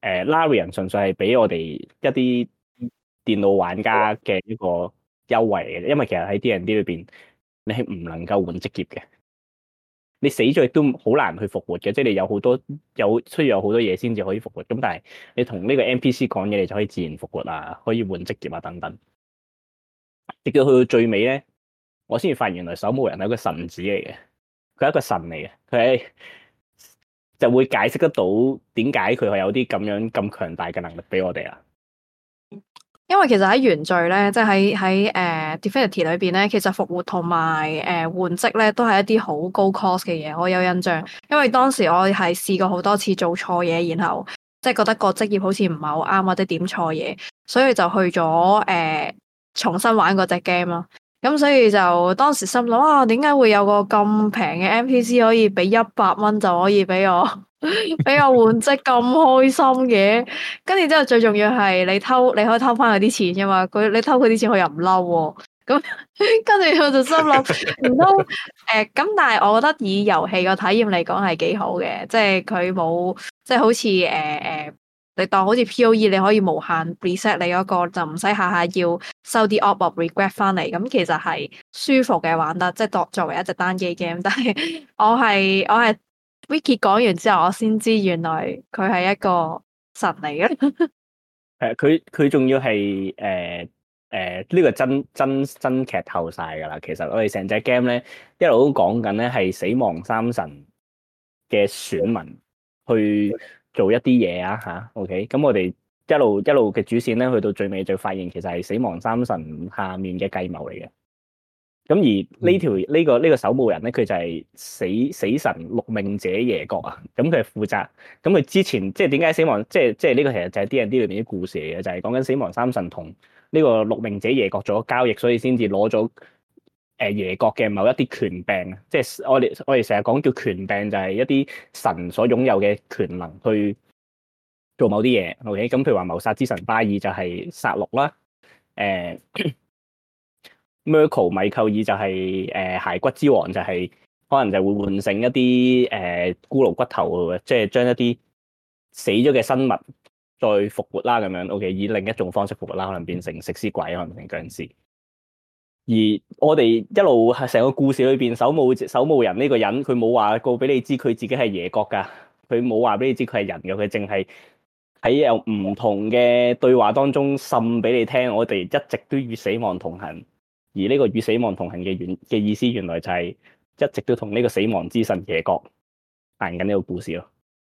誒 Larian 純粹係俾我哋一啲電腦玩家嘅一個優惠嚟嘅，因為其實喺 D and D 裏邊，你係唔能夠換職業嘅，你死咗亦都好難去復活嘅，即係你有好多有需要有好多嘢先至可以復活。咁但係你同呢個 N P C 講嘢，你就可以自然復活啊，可以換職業啊等等。直到去到最尾咧，我先至發現原來守墓人係一個神子嚟嘅，佢係一個神嚟嘅，佢係就會解釋得到點解佢係有啲咁樣咁強大嘅能力俾我哋啊。 因為其實喺原罪咧，即係喺喺誒 Divinity 裏邊咧，其實復活同埋誒換職咧，都係一啲好高 cost 嘅嘢。我有印象，因為當時我係試過好多次做錯嘢，然後即係覺得個職業好似唔係好啱，或者點錯嘢，所以就去咗誒、呃、重新玩嗰隻 game 咯。咁所以就當時心諗啊，點解會有個咁平嘅 N P C 可以俾一百蚊就可以俾我俾我換職咁開心嘅？跟住之後最重要係你偷，你可以偷翻佢啲錢噶嘛？佢你偷佢啲錢，佢又唔嬲喎。咁跟住我就心諗唔通誒？咁但係我覺得以遊戲個體驗嚟講係幾好嘅，即係佢冇即係好似誒誒，你當好似 P O E 你可以無限 reset 你嗰個，就唔使下下要收啲 Orb of Regret 翻嚟。咁其實係舒服嘅玩得，即係作作為一隻單機 game。但係我係我係 Wiki 講完之後，我先知原來佢係一個神嚟嘅。 係佢佢仲要係誒誒呢個真真真劇透晒㗎啦。其實我哋成隻 game 咧一路都講緊咧係死亡三神嘅選民去做一啲嘢啊嚇。OK，咁我哋一路一路嘅主線咧，去到最尾就發現其實係死亡三神下面嘅計謀嚟嘅。咁而呢條呢個呢個守墓人咧，佢就係死死神六命者耶國啊。咁佢係負責，咁佢之前即係點解死亡，即係即係呢個其實就係 D and D 裏邊啲故事嚟嘅，就係講緊死亡三神同呢個六命者耶國做咗交易，所以先至攞咗誒耶國嘅某一啲權柄。即係我哋我哋成日講叫權柄，就係一啲神所擁有嘅權能去做某啲嘢。OK，咁譬如話謀殺之神巴爾就係殺戮啦，誒、呃。Merkel 米寇爾就係、是、誒、呃、骸骨之王，就係、是、可能就會換成一啲誒、呃、骷髏骨頭，即係將一啲死咗嘅生物再復活啦咁樣。OK，以另一種方式復活啦，可能變成食屍鬼，可能變成僵屍。而我哋一路係成個故事裏邊，守墓守墓人呢個人，佢冇話過俾你知佢自己係耶國噶，佢冇話俾你知佢係人嘅，佢淨係喺有唔同嘅對話當中滲俾你聽，我哋一直都與死亡同行。而呢個與死亡同行嘅原嘅意思，原來就係一直都同呢個死亡之神耶國行緊呢個故事咯。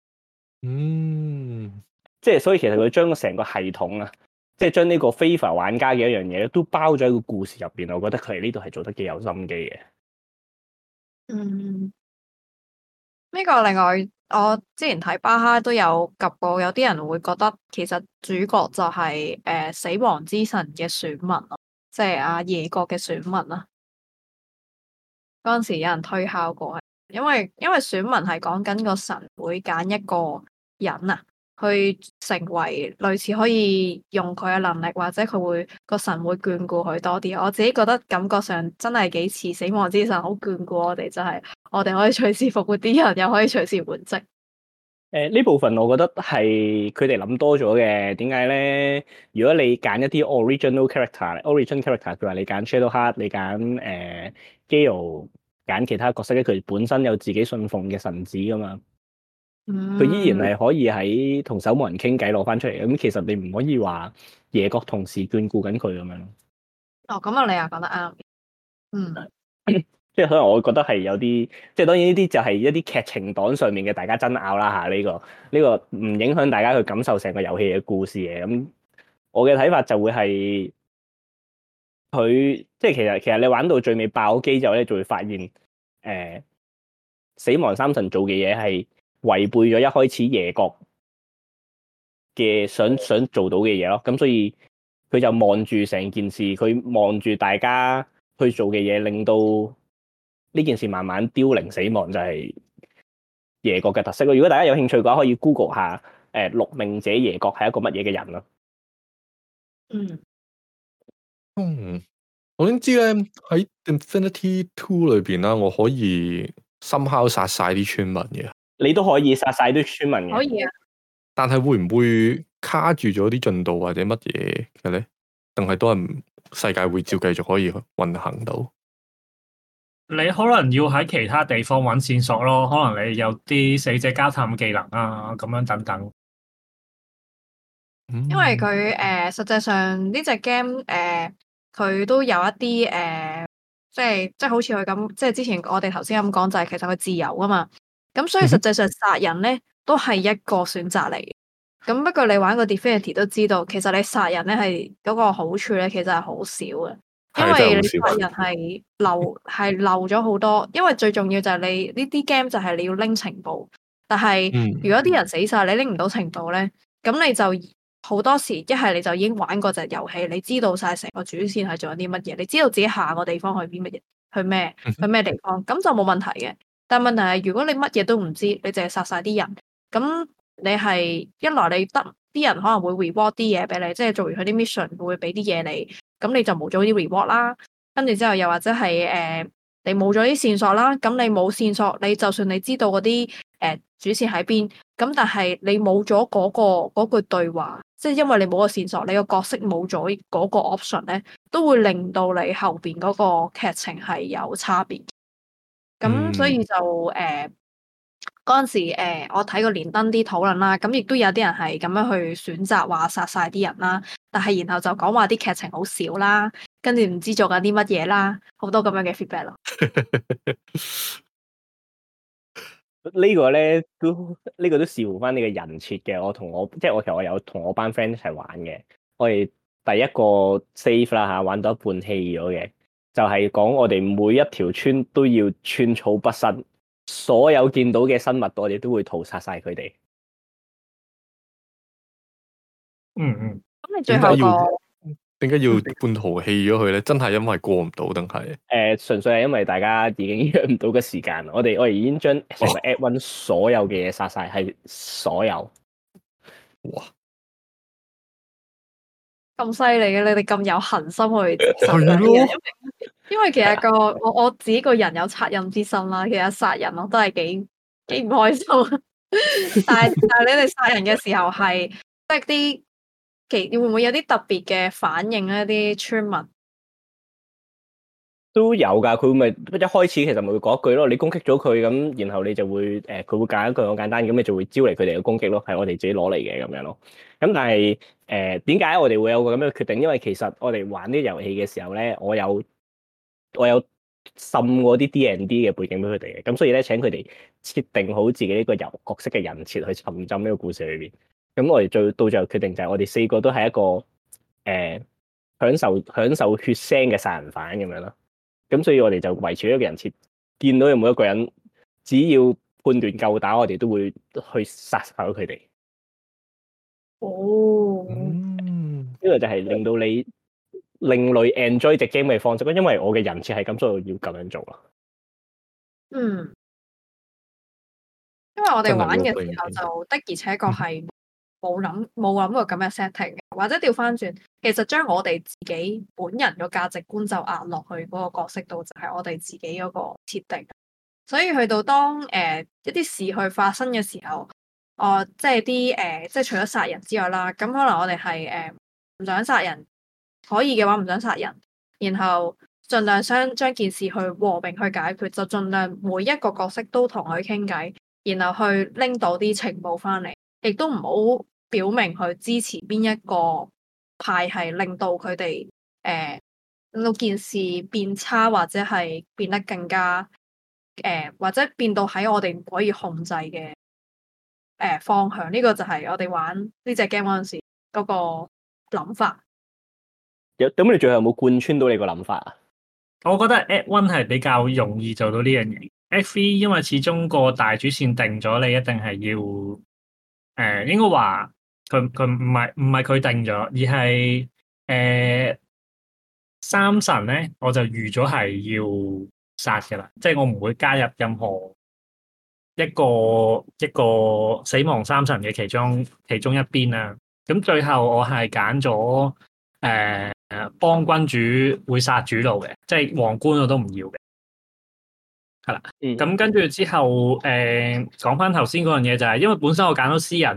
嗯， 即係所以其實佢將成個系統啊，即係將呢個非法玩家嘅一樣嘢都包咗喺個故事入邊。我覺得佢喺呢度係做得幾有心機嘅。 嗯，呢個另外我之前睇巴哈都有及過，有啲人會覺得其實主角就係誒死亡之神嘅選民咯。即係阿耶國嘅選民啊，嗰陣時有人推敲過，因為因為選民係講緊個神會揀一個人啊，去成為類似可以用佢嘅能力，或者佢會個神會眷顧佢多啲。我自己覺得感覺上真係幾似死亡之神好眷顧我哋，就係我哋可以隨時復活啲人，又可以隨時換職。 誒呢部分我覺得係佢哋諗多咗嘅。點解咧？如果你揀一啲 original character，origin character，譬如話你揀 Shadowheart，你揀誒 Gale，揀其他角色咧，佢本身有自己信奉嘅神子噶嘛。佢、嗯、依然係可以喺同守墓人傾偈攞翻出嚟。咁其實你唔可以話耶國同時眷顧緊佢咁樣。 哦，咁啊，你又講得啱。嗯。 即係可能我覺得係有啲，即係當然呢啲就係一啲劇情黨上面嘅大家爭拗啦嚇。呢個呢個唔影響大家去感受成個遊戲嘅故事嘅。咁我嘅睇法就會係佢即係其實其實你玩到最尾爆機之後咧，就會發現誒、呃、死亡三神做嘅嘢係違背咗一開始耶國嘅想想做到嘅嘢咯。咁所以佢就望住成件事，佢望住大家去做嘅嘢，令到呢件事慢慢凋零死亡，就係耶國嘅特色咯。如果大家有興趣嘅話，可以 Google 下誒六命者耶國係一個乜嘢嘅人咯。 嗯， 嗯，我先知咧喺 Infinity Two 裏邊啦，我可以somehow殺晒啲村民嘅。 你都可以殺晒啲村民嘅。 可以啊。 但係會唔會卡住咗啲進度或者乜嘢嘅咧？定係都係唔世界會照繼續可以運行到？ 你可能要喺其他地方揾線索咯，可能你有啲死者交談技能啊，咁樣等等。 因為佢誒、呃、實際上呢隻 game 誒佢都有一啲誒、呃，即係即係好似佢咁，即係之前我哋頭先咁講就係其實佢自由啊嘛。咁所以實際上殺人咧都係一個選擇嚟嘅。咁不過你玩個 Divinity 都知道，其實你殺人咧係嗰個好處咧，其實係好少嘅，因為你殺人係漏係漏咗好多。因為最重要就係你呢啲 game 就係你要拎情報，但係如果啲人死晒，你拎唔到情報咧，咁你就好多時一係你就已經玩過隻遊戲，你知道晒成個主線係做緊啲乜嘢，你知道自己下個地方去邊乜嘢，去咩去咩地方，咁就冇問題嘅。但問題係如果你乜嘢都唔知，你淨係殺晒啲人，咁你係一來你得啲人可能會 reward 啲嘢俾你，即係做完佢啲 mission 會俾啲嘢你，咁你就冇咗啲 reward 啦。跟住之後又或者係誒、呃、你冇咗啲線索啦，咁你冇線索，你就算你知道嗰啲誒主線喺邊，咁但係你冇咗嗰個嗰句對話，即係因為你冇個線索，你個角色冇咗嗰個 option 咧，都會令到你後邊嗰個劇情係有差別。咁、嗯、所以就誒嗰陣時、呃、我睇過連登啲討論啦，咁亦都有啲人係咁樣去選擇話殺晒啲人啦，但係然後就講話啲劇情好少啦，跟住唔知做緊啲乜嘢啦，好多咁樣嘅 feedback 咯。 個呢個咧都呢、呢個都視乎翻你嘅人設嘅。我同我即係我其實我有同我班 friend 一齊玩嘅，我哋第一個 save 啦嚇，玩到一半棄咗嘅。就係講我哋每一條村都要寸草不生，所有見到嘅生物我哋都會屠殺晒佢哋。 嗯嗯。 咁你最後個點解要半途棄咗佢咧？真係因為過唔到定係？誒， 純粹係因為大家已經約唔到個時間。我哋我哋已經將成個 Act One 所有嘅嘢殺晒，係所有。 哇！ 咁犀利嘅，你哋咁有恆心去殺人，因為因為其實個我我自己個人有惻隱之心啦，其實殺人我都係幾幾唔開心，但係但係你哋殺人嘅時候係即係啲其會唔會有啲特別嘅反應咧？啲村民都有噶，佢咪一開始其實咪會講一句咯，你攻擊咗佢咁，然後你就會誒，佢、呃、會揀一句好簡單，咁你就會招嚟佢哋嘅攻擊咯，係我哋自己攞嚟嘅咁樣咯。咁但係誒點解我哋會有個咁樣嘅決定？因為其實我哋玩呢啲遊戲嘅時候咧，我有我有滲過啲 D and D 嘅背景俾佢哋嘅，咁所以咧請佢哋設定好自己呢個遊角色嘅人設去沉浸呢個故事裏邊。咁我哋最到最後決定就係我哋四個都係一個誒、呃、享受享受血腥嘅殺人犯咁樣咯。咁所以我哋就維持一個人設，見到有冇一個人，只要判斷夠打，我哋都會去殺死佢哋。 哦， 嗯， 呢個就係令到你另類 enjoy 隻 game 嘅方式，因為我嘅人設係咁，所以我要咁樣做咯。 嗯，因為我哋玩嘅時候就的而且確係冇諗冇諗過咁嘅 setting，或者調翻轉，其實將我哋自己本人個價值觀就壓落去嗰個角色度，就係、是、我哋自己嗰個設定。所以去到當誒、呃、一啲事去發生嘅時候，哦、呃，即係啲誒，即係除咗殺人之外啦，咁可能我哋係誒唔想殺人，可以嘅話唔想殺人，然後盡量將將件事去和平去解決，就盡量每一個角色都同佢傾偈，然後去拎到啲情報翻嚟，亦都唔好表明去支持邊一個派系，令到佢哋誒令到件事變差，或者係變得更加誒、呃，或者變到喺我哋唔可以控制嘅誒、呃、方向。呢、這個就係我哋玩呢隻 game 嗰陣時嗰個諗法。 有咁你最後有冇貫穿到你個諗法啊？ 我覺得 Act One 係比較容易做到呢樣嘢。Act Three 因為始終個大主線定咗，你一定係要誒、呃，應該話佢佢唔係唔係佢定咗，而係誒、呃、三神咧，我就預咗係要殺嘅啦，即係我唔會加入任何一個一個死亡三神嘅其中其中一邊啊。咁最後我係揀咗誒幫君主會殺主路嘅，即係皇冠我都唔要嘅，係啦。咁、嗯、跟住之後誒講翻頭先嗰樣嘢就係、是，因為本身我揀咗私人咧，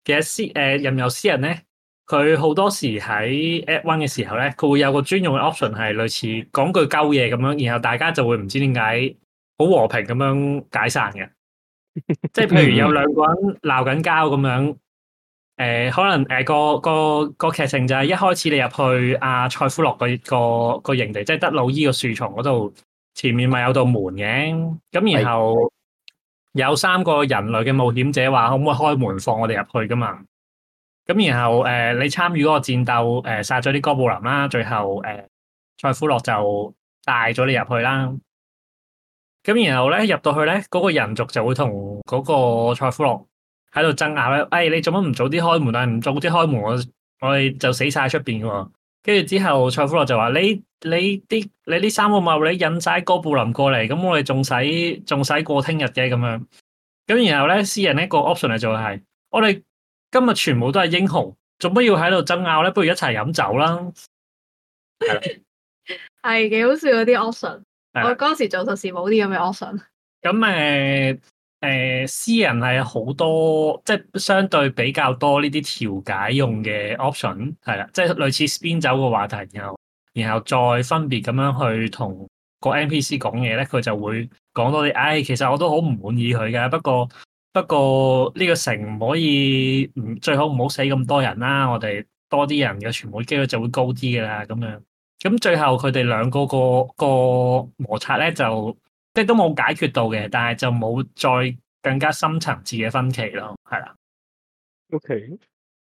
其實私誒任由私人咧，佢好多時喺 Act One 嘅時候咧，佢會有個專用嘅 option 係類似講句鳩嘢咁樣，然後大家就會唔知點解好和平咁樣解散嘅。即係譬如有兩個人鬧緊交咁樣，誒、呃、可能誒、呃、個個個劇情就係一開始你入去阿蔡夫洛個個個營地，即係德魯伊個樹叢嗰度，前面咪有道門嘅，咁然後有三個人類嘅冒險者話可唔可以開門放我哋入去噶嘛？咁然後誒、呃、你參與嗰個戰鬥，誒、呃、殺咗啲哥布林啦，最後誒、呃、蔡夫洛就帶咗你入去啦。咁然後咧入到去咧，嗰、那個人族就會同嗰個蔡夫洛喺度爭拗咧。誒、哎，你做乜唔早啲開門啊？唔早啲開門，我我哋就死晒出邊嘅喎。跟住之後，蔡夫洛就話：你你啲你呢三個茂你引晒哥布林過嚟，咁我哋仲使仲使過聽日嘅咁樣。咁然後咧，私人呢個 option 就係、是：我哋今日全部都係英雄，做乜要喺度爭拗咧？不如一齊飲酒啦。係啦， 係幾好笑嗰啲 option。 我嗰時做實事冇啲咁嘅 option。 咁誒誒，私人係好多，即係相對比較多呢啲調解用嘅 option，係啦，即係類似 spin 走個話題，然後然後再分別咁樣去同個 N P C 講嘢咧，佢就會講多啲。唉、哎，其實我都好唔滿意佢嘅，不過不過呢個城唔可以，唔最好唔好死咁多人啦，我哋多啲人嘅存活機率就會高啲噶啦，咁樣。咁最後佢哋兩個個個摩擦咧，就即係都冇解決到嘅，但係就冇再更加深層次嘅分歧咯，係啦。 OK。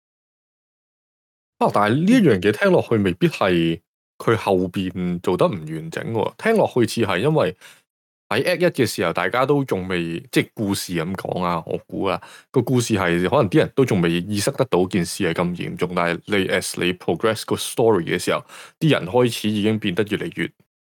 啊，但係呢一樣嘢聽落去未必係佢後邊做得唔完整喎，聽落去似係因為喺 Act 一嘅時候，大家都仲未即係故事咁講啊，我估啊個故事係可能啲人都仲未意識得到件事係咁嚴重，但係你 as 你 progress 個 story 嘅時候，啲人開始已經變得越嚟越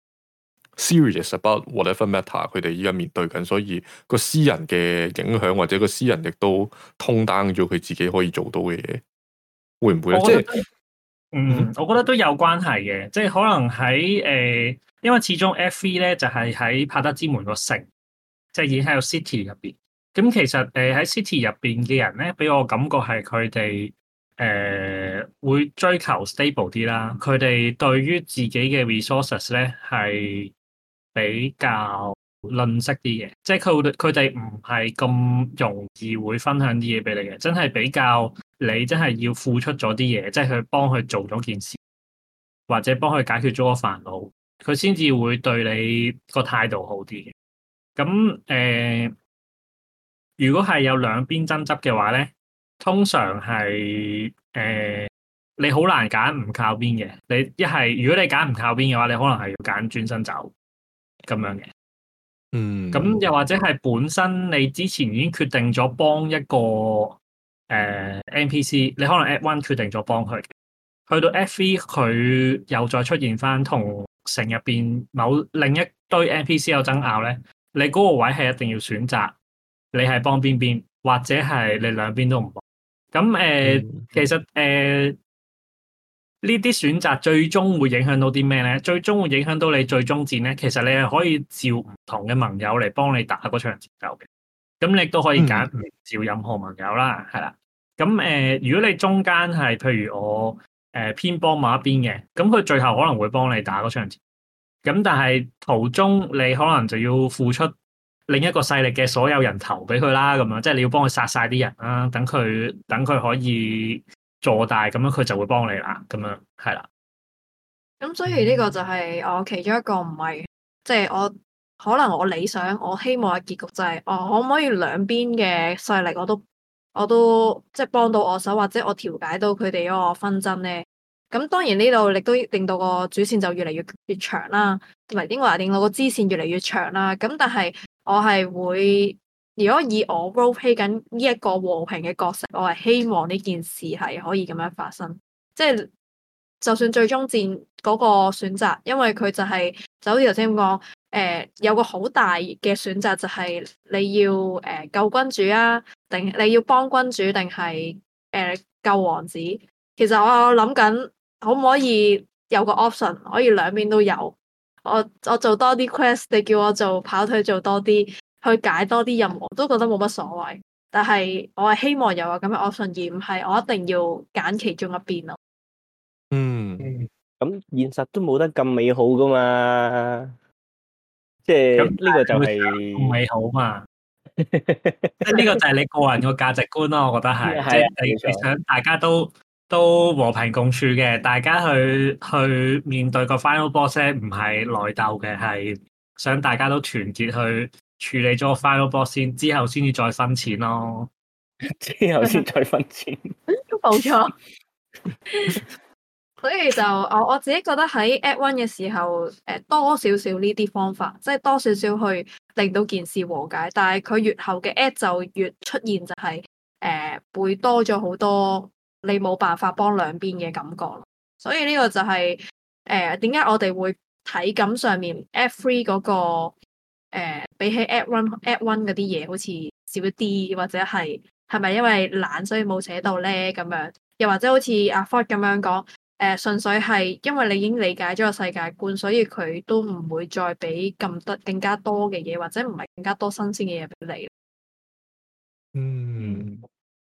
serious about whatever matter 佢哋依家面對緊，所以個私人嘅影響或者個私人亦都通單咗佢自己可以做到嘅嘢，會唔會咧？即係嗯，我覺得都有關係嘅，即係可能喺誒。呃因為始終 F 三咧就係喺帕德之門個城，即係已經喺個 city 入邊。咁其實誒喺 city 入邊嘅人咧，俾我感覺係佢哋誒會追求 stable 啲啦。佢哋對於自己嘅 resources 咧係比較吝嗇啲嘅，即係佢佢哋唔係咁容易會分享啲嘢俾你嘅，真係比較你真係要付出咗啲嘢，即係去幫佢做咗件事，或者幫佢解決咗個煩惱。佢先至會對你個態度好啲嘅。咁誒、呃，如果係有兩邊爭執嘅話咧，通常係誒、呃、你好難揀唔靠邊嘅。你一係如果你揀唔靠邊嘅話，你可能係要揀轉身走咁樣嘅。 嗯。 咁又或者係本身你之前已經決定咗幫一個誒、呃、N P C，你可能 Act One 決定咗幫佢，去到 Act Three 佢又再出現翻同城入邊某另一堆 N P C 有爭拗咧，你嗰個位係一定要選擇，你係幫邊邊，或者係你兩邊都唔幫。咁誒，呃嗯、其實誒呢啲選擇最終會影響到啲咩咧？最終會影響到你最終戰咧。其實你係可以召唔同嘅盟友嚟幫你打嗰場戰鬥嘅。咁你亦都可以揀唔召任何盟友啦，係啦、嗯。咁誒、呃，如果你中間係譬如我。誒、呃，偏幫某一邊嘅，咁佢最後可能會幫你打嗰場戰，咁但係途中你可能就要付出另一個勢力嘅所有人頭俾佢啦，咁樣即係你要幫佢殺晒啲人啦，等佢等佢可以做大，咁樣佢就會幫你啦，咁樣係啦。 咁所以呢個就係我其中一個唔係，即係我可能我理想我希望嘅結局就係，我可唔可以兩邊嘅勢力我都。我都即係幫到我手，或者我調解到佢哋嗰個紛爭咧。咁當然呢度亦都令到個主線就越嚟越越長啦，同埋應該話令到個支線越嚟越長啦。咁但係我係會，如果以我 role play 緊呢一個和平嘅角色，我係希望呢件事係可以咁樣發生。即係就算最終戰嗰個選擇，因為佢就係、是、就好似頭先咁講。誒、呃，有個好大嘅選擇就係你要誒、呃、救君主啊，定你要幫君主，定係誒救王子？其實我諗緊可唔可以有個 option，可以兩邊都有。我我做多啲 quest，你叫我做跑腿做多啲，去解多啲任務，我都覺得冇乜所謂。 但係我係希望有個咁嘅 option，而唔係我一定要揀其中一邊咯。 嗯， 咁現實都冇得咁美好噶嘛，即係呢個就係唔美好嘛。即係呢個就係你個人個價值觀咯，我覺得係，即係你你想大家都都和平共處嘅，大家去去面對個 final boss 咧，唔係內鬥嘅，係想大家都團結去處理咗個 final boss 先，之後先至再分錢咯。 之後先再分錢， 冇錯。所以就我我自己覺得喺 Act One 嘅時候，誒多少少呢啲方法，即係多少少去令到件事和解。但係佢越後嘅 Act 就越出現就係、是、誒、呃、會多咗好多你冇辦法幫兩邊嘅感覺。所以呢個就係誒點解我哋會體感上面 Act Three 嗰、那個誒、呃、比起 Act One Act One 嗰啲嘢好似少啲，或者係係咪因為懶所以冇寫到咧咁樣？又或者好似阿 Ford 咁樣講。誒、呃、純粹係因為你已經理解咗個世界觀，所以佢都唔會再俾咁多更加多嘅嘢，或者唔係更加多新鮮嘅嘢俾你。 嗯，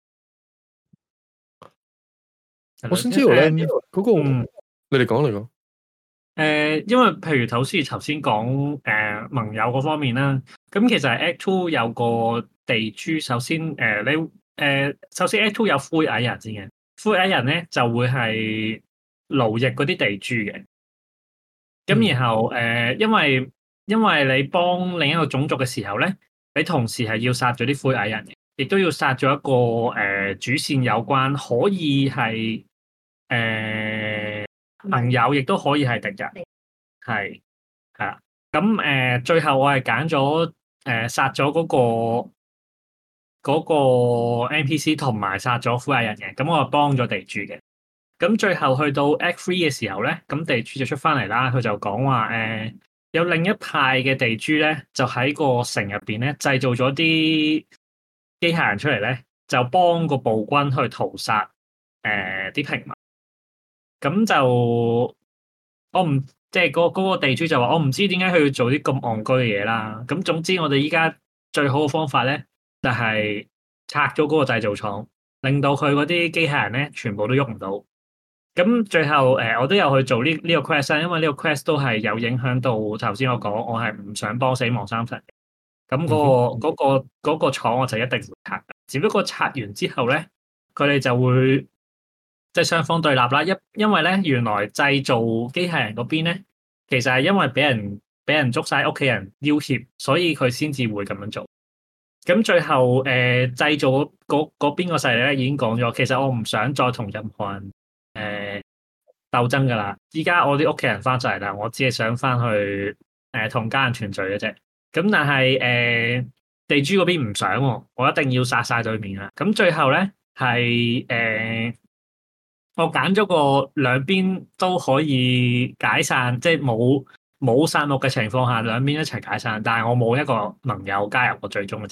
係我想知道咧，嗰、 誒那個、 嗯、 你哋講你講。誒、 呃，因為譬如頭先頭先講誒盟友嗰方面啦，咁其實 Act Two 有個地豬，首先誒、呃、你誒、呃、首先 Act Two 有灰矮人先嘅，灰矮人咧就會係奴役嗰啲地豬嘅，咁然後誒、呃，因為因為你幫另一個種族嘅時候咧，你同時係要殺咗啲灰矮人嘅，亦都要殺咗一個誒、呃、主線有關，可以係誒盟友，亦都可以係敵人，係係啦。咁誒、呃，最後我係揀咗誒殺咗嗰個嗰、嗰個 N P C 同埋殺咗灰矮人嘅，咁我係幫咗地豬嘅。咁最後去到 Act Three 嘅時候咧，咁地豬就出翻嚟啦。佢就講話誒，有另一派嘅地豬咧，就喺個城入邊咧製造咗啲機械人出嚟咧，就幫個暴君去屠殺誒啲平民。咁就我唔即係嗰嗰個地豬就話，我唔知點解佢要做啲咁戇居嘅嘢啦。咁總之我哋依家最好嘅方法咧，就係拆咗嗰個製造廠，令到佢嗰啲機械人咧全部都喐唔到。咁最後誒、呃，我都有去做呢呢個 quest，因為呢個 quest 都係有影響到頭先我講，我係唔想幫死亡三神嘅。咁嗰、嗰個嗰、嗰個嗰、嗰個廠我就一定會拆。只不過拆完之後咧，佢哋就會即係雙方對立啦。因因為咧，原來製造機械人嗰邊咧，其實係因為俾人俾人捉晒屋企人要挾，所以佢先至會咁樣做。咁最後誒、呃、製造嗰嗰邊個勢力咧已經講咗，其實我唔想再同任何人。誒、呃，鬥爭噶啦！依家我啲屋企人翻晒嚟啦，我只係想翻去誒同、呃、家人團聚嘅啫。咁但係誒、呃、地豬嗰邊唔想、哦，我一定要殺晒對面啦。咁最後咧係誒，我揀咗個兩邊都可以解散，即係冇冇殺戮嘅情況下，兩邊一齊解散。但係我冇一個盟友加入我最終嘅。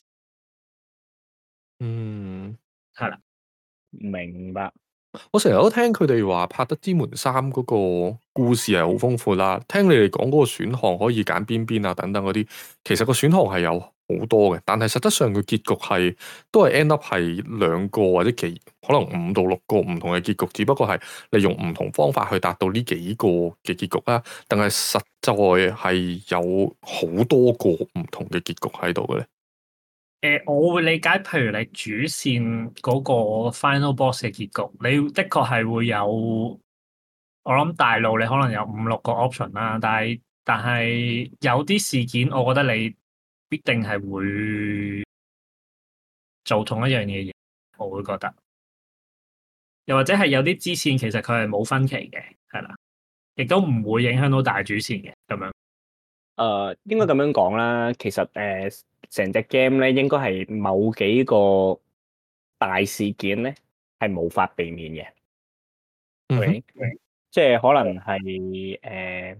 嗯， 係啦， 明白。 我成日都聽佢哋話《柏德之門三》嗰個故事係好豐富啦，聽你哋講嗰個選項可以揀邊邊啊等等嗰啲，其實個選項係有好多嘅，但係實質上個結局係都係 end up 係兩個或者幾可能五到六個唔同嘅結局，只不過係你用唔同方法去達到呢幾個嘅結局啦，但係實在係有好多個唔同嘅結局喺度嘅咧。 誒、呃，我會理解，譬如你主線嗰個 final boss 嘅結局，你的確係會有，我諗大路你可能有五六個 option 啦，但係但係有啲事件，我覺得你必定係會做同一樣嘢，我會覺得，又或者係有啲支線其實佢係冇分歧嘅，係啦，亦都唔會影響到大主線嘅咁樣。 誒、呃，應該咁樣講啦，其實誒。呃成隻 game 咧，應該係某幾個大事件咧，係無法避免嘅。 嗯哼 okay? 即係可能係誒、呃，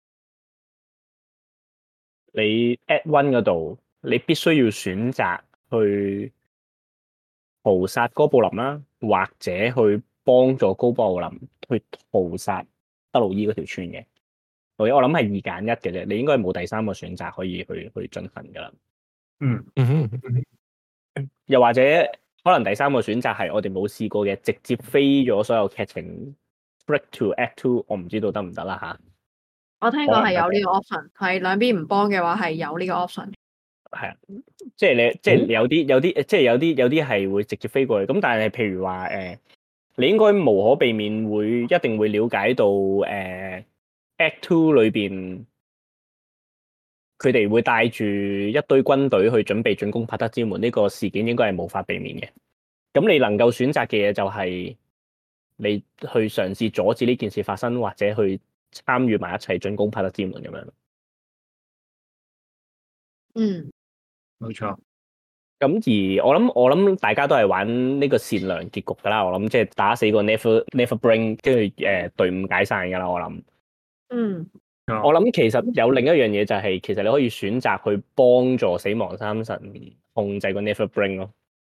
你 at one 嗰度，你必須要選擇去屠殺哥布林啦，或者去幫助高布林去屠殺德魯伊嗰條村嘅。我我諗係二揀一嘅啫，你應該冇第三個選擇可以去去進行噶啦。 嗯嗯哼， 又或者可能第三個選擇係我哋冇試過嘅，直接飛咗所有劇情 break to act two，我唔知道得唔得啦吓。 我聽講係有呢個 option，係兩邊唔幫嘅話係有呢個 option。 係啊，即係你即係有啲有啲即係有啲有啲係會直接飛過去。咁但係譬如話誒、呃，你應該無可避免會一定會了解到誒、呃、Act Two 裏邊佢哋會帶住一堆軍隊去準備進攻帕德之門呢、這個事件，應該係無法避免嘅。咁你能夠選擇嘅嘢就係你去嘗試阻止呢件事發生，或者去參與埋一齊進攻帕德之門咁樣。 嗯。 冇錯， 咁而我諗我諗大家都係玩呢個善良結局噶啦，我諗即係打死個 Never Never Bring， 跟住誒隊伍解散噶啦，我諗。 嗯， 我諗其實有另一樣嘢就係、是，其實你可以選擇去幫助死亡三神控制個 Never Bring 咯。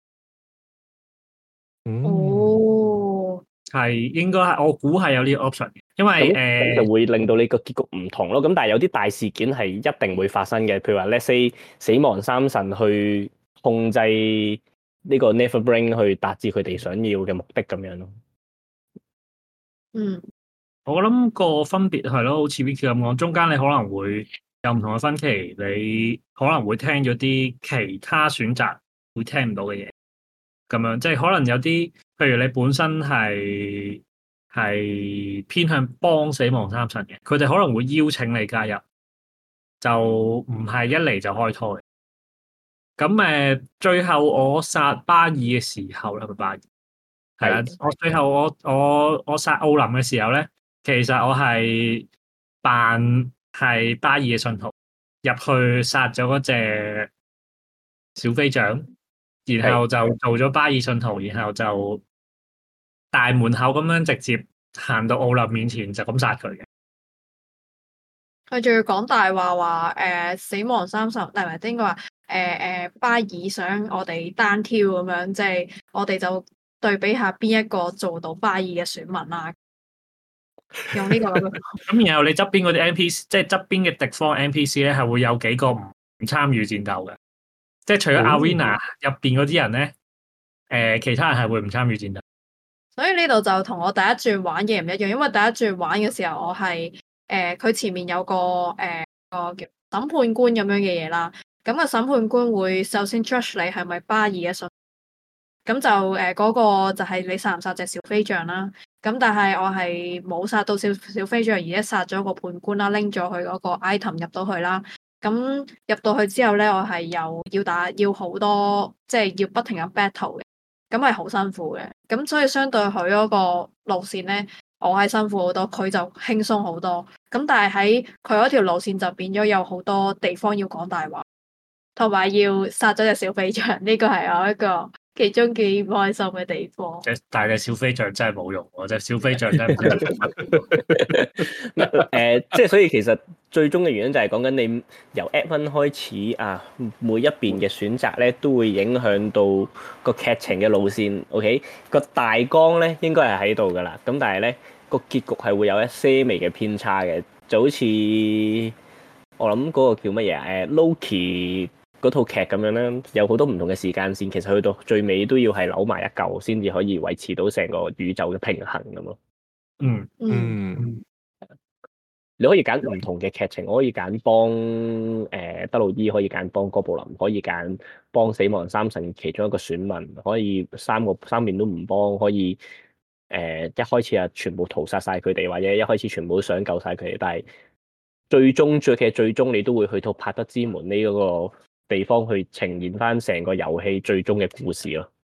哦， 係應該係我估係有呢個 option，因為誒、呃、 就會令到你個結局唔同咯。咁但係有啲大事件係一定會發生嘅，譬如話 Let's say 死亡三神去控制呢個 Never Bring 去達至佢哋想要嘅目的咁樣咯。 嗯， 我諗個分別係咯，好似 Vicky 咁講，中間你可能會有唔同嘅分歧，你可能會聽咗啲其他選擇會聽唔到嘅嘢，咁樣即係可能有啲，譬如你本身係係偏向幫死亡三神嘅，佢哋可能會邀請你加入，就唔係一嚟就開拖嘅。咁誒，最後我殺巴爾嘅時候咧，係咪巴爾？係啊，我最後我我我殺奧林嘅時候咧，其實我係扮係巴爾嘅信徒入去殺咗嗰隻小飛象，然後就做咗巴爾信徒，然後就大門口咁樣直接行到奧林面前就咁殺佢嘅。 佢仲要講大話話誒死亡三十，唔係唔係應該話誒誒巴爾想我哋單挑咁樣，即係我哋就對比下邊一個做到巴爾嘅選民啦。用呢個咁，然後你側邊嗰啲 N P C，即係側邊嘅敵方 N P C 咧，係會有幾個唔參與戰鬥嘅，即係除咗 Arena 入邊嗰啲人咧，誒、呃、其他人係會唔參與戰鬥。 所以呢度就同我第一轉玩嘅唔一樣，因為第一轉玩嘅時候我係誒佢前面有個誒、呃、個叫審判官咁樣嘅嘢啦，咁、個審判官會首先 judge 你係咪巴爾嘅信，咁就誒嗰、呃嗰個就係你殺唔殺隻小飛象啦。咁但係我係冇殺到小小飛象，而且殺咗個判官啦，拎咗佢嗰個 item 入到去啦。咁入到去之後咧，我係又要打要好多，即係要不停咁 battle 嘅，咁係好辛苦嘅。咁所以相對佢嗰個路線咧，我係辛苦好多，佢就輕鬆好多。咁但係喺佢嗰條路線就變咗有好多地方要講大話，同埋要殺咗隻小飛象，呢個係我一個其中幾唔開心嘅地方。 即係大嘅小飛象真係冇用，我隻小飛象真係唔知做乜。 誒，即係所以其實最終嘅原因就係講緊你由 Act One 開始啊，每一邊嘅選擇咧都會影響到個劇情嘅路線。OK，個大綱咧應該係喺度噶啦，咁但係咧個結局係會有一些微嘅偏差嘅，就好似我諗嗰個叫乜嘢啊？誒 Loki 嗰套劇咁樣咧，有好多唔同嘅時間線，其實去到最尾都要係扭埋一嚿先至可以維持到成個宇宙嘅平衡咁咯。 嗯嗯， 嗯， 你可以揀唔同嘅劇情，我可以揀幫誒德魯伊，可以揀幫哥布林，可以揀幫死亡三神其中一個選民，可以三個三面都唔幫，可以誒、呃、一開始啊全部屠殺晒佢哋，或者一開始全部都想救晒佢哋，但係最終最其實最終你都會去到帕德之門呢嗰個地方去呈現翻成個遊戲最終嘅故事咯。